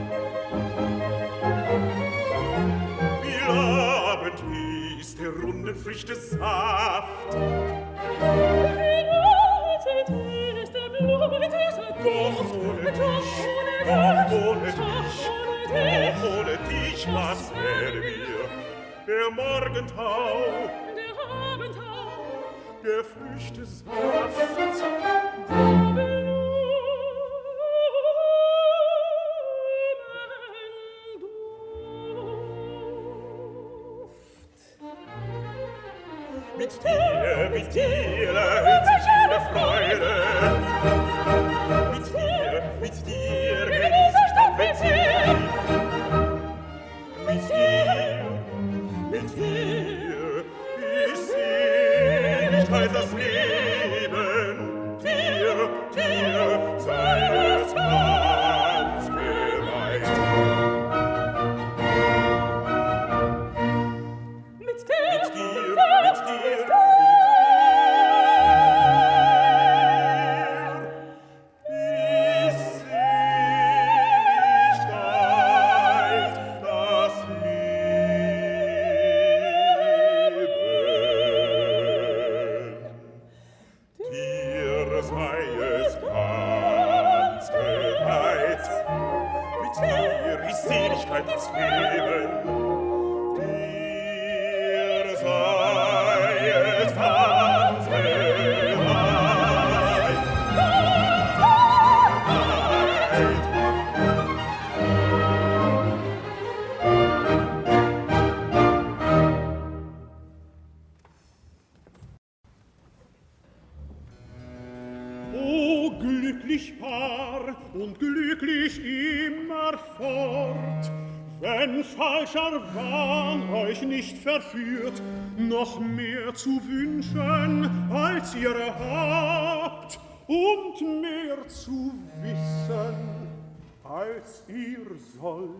D: Wie labend ist der runden Früchte Saft.
C: Wie reizend ist der Blumen Süß!
D: Doch ohne dich, doch ohne dich, doch ohne dich, was wäre mir? Der Morgentau,
C: Der Abendhauch,
D: der Früchte Saft. Mit dir, mit dir erhält sich jede Freude. Mit dir, mit dir genieß ich Tapezier. Mit dir, mit dir ist Seligkeit das Leben. Dir, dir sei es ganz geweiht.
C: Mit dir,
D: Mit dir, mit dir, mit dir ist Seligkeit das Leben. Dir sei es ganz geweiht. Mit dir ist Seligkeit das Leben. Dir sei es ganz geweiht.
B: O glücklich Paar und glücklich immerfort, wenn falscher Wahn euch nicht verführt, noch mehr zu wünschen, als ihr habt, und mehr zu wissen, als ihr sollt.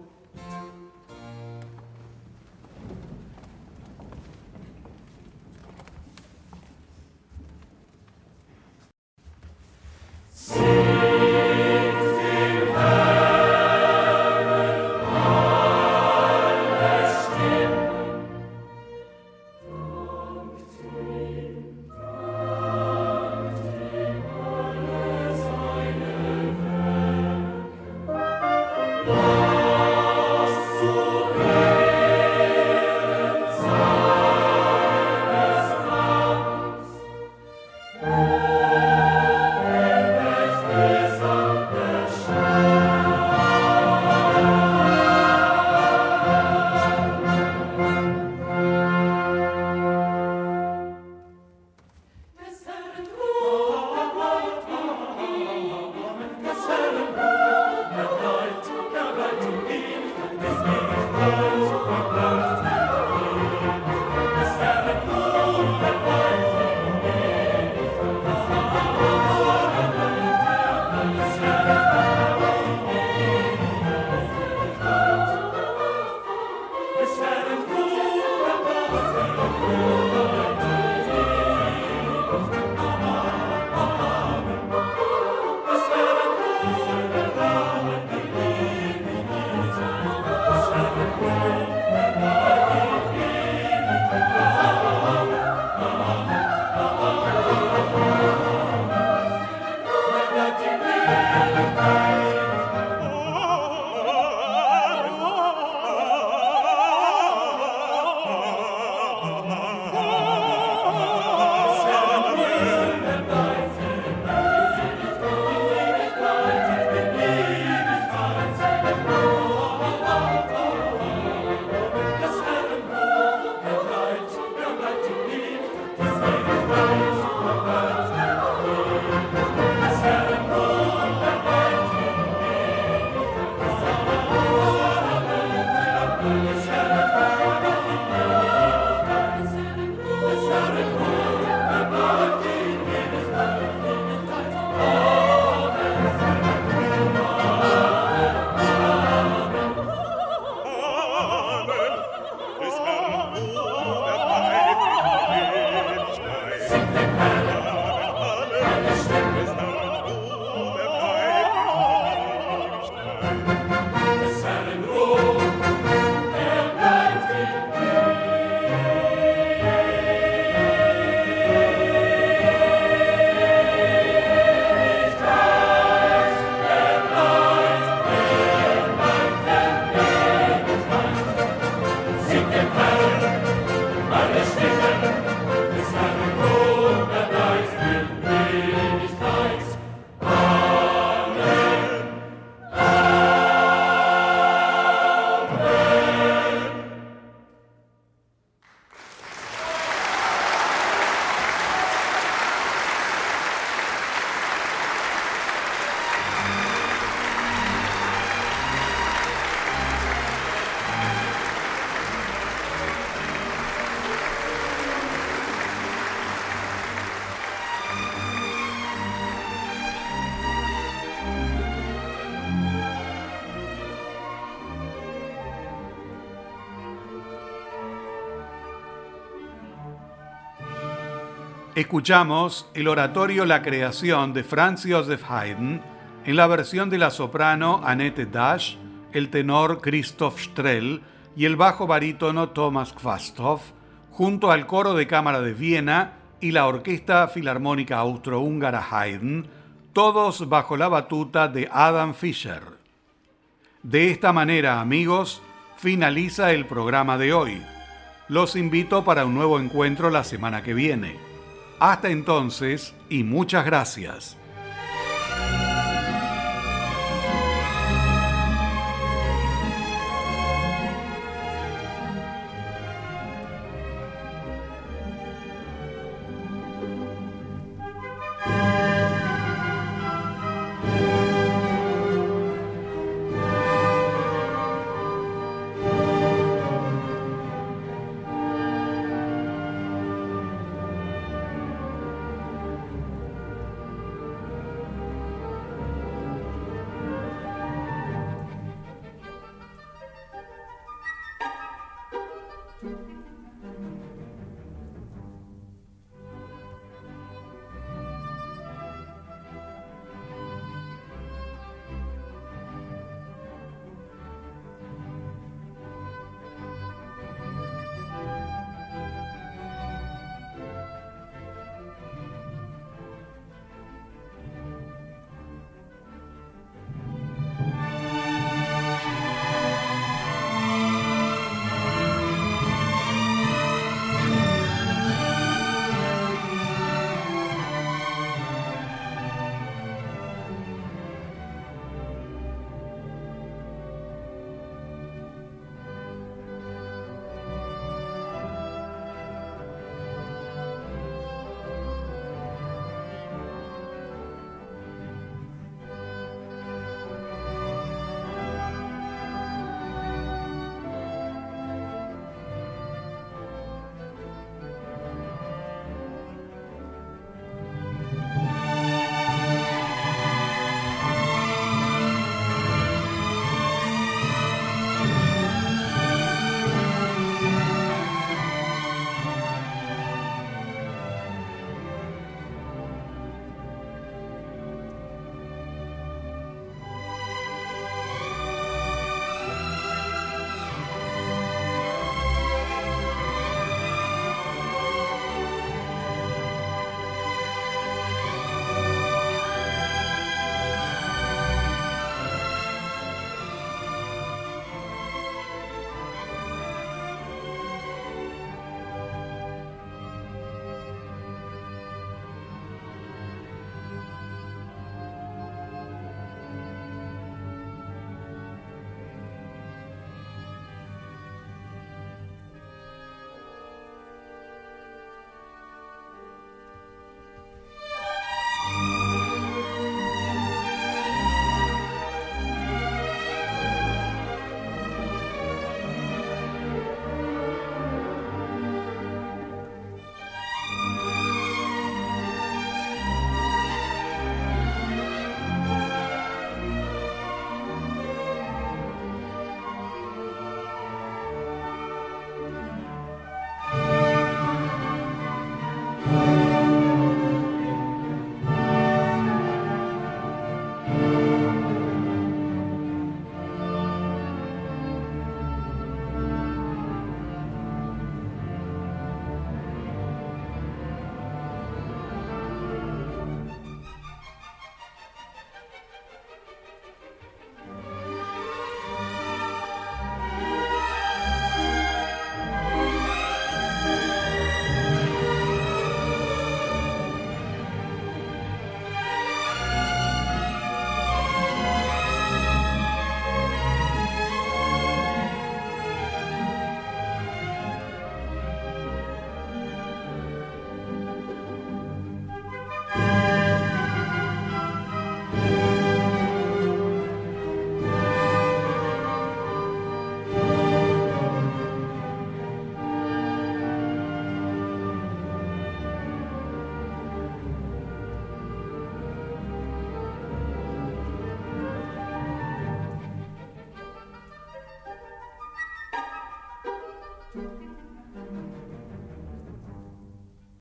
A: Escuchamos el oratorio La Creación de Franz Joseph Haydn en la versión de la soprano Annette Dash, el tenor Christoph Strell y el bajo barítono Thomas Quasthoff, junto al coro de cámara de Viena y la Orquesta Filarmónica Austrohúngara Haydn, todos bajo la batuta de Adam Fischer. De esta manera, amigos, finaliza el programa de hoy. Los invito para un nuevo encuentro la semana que viene. Hasta entonces y muchas gracias.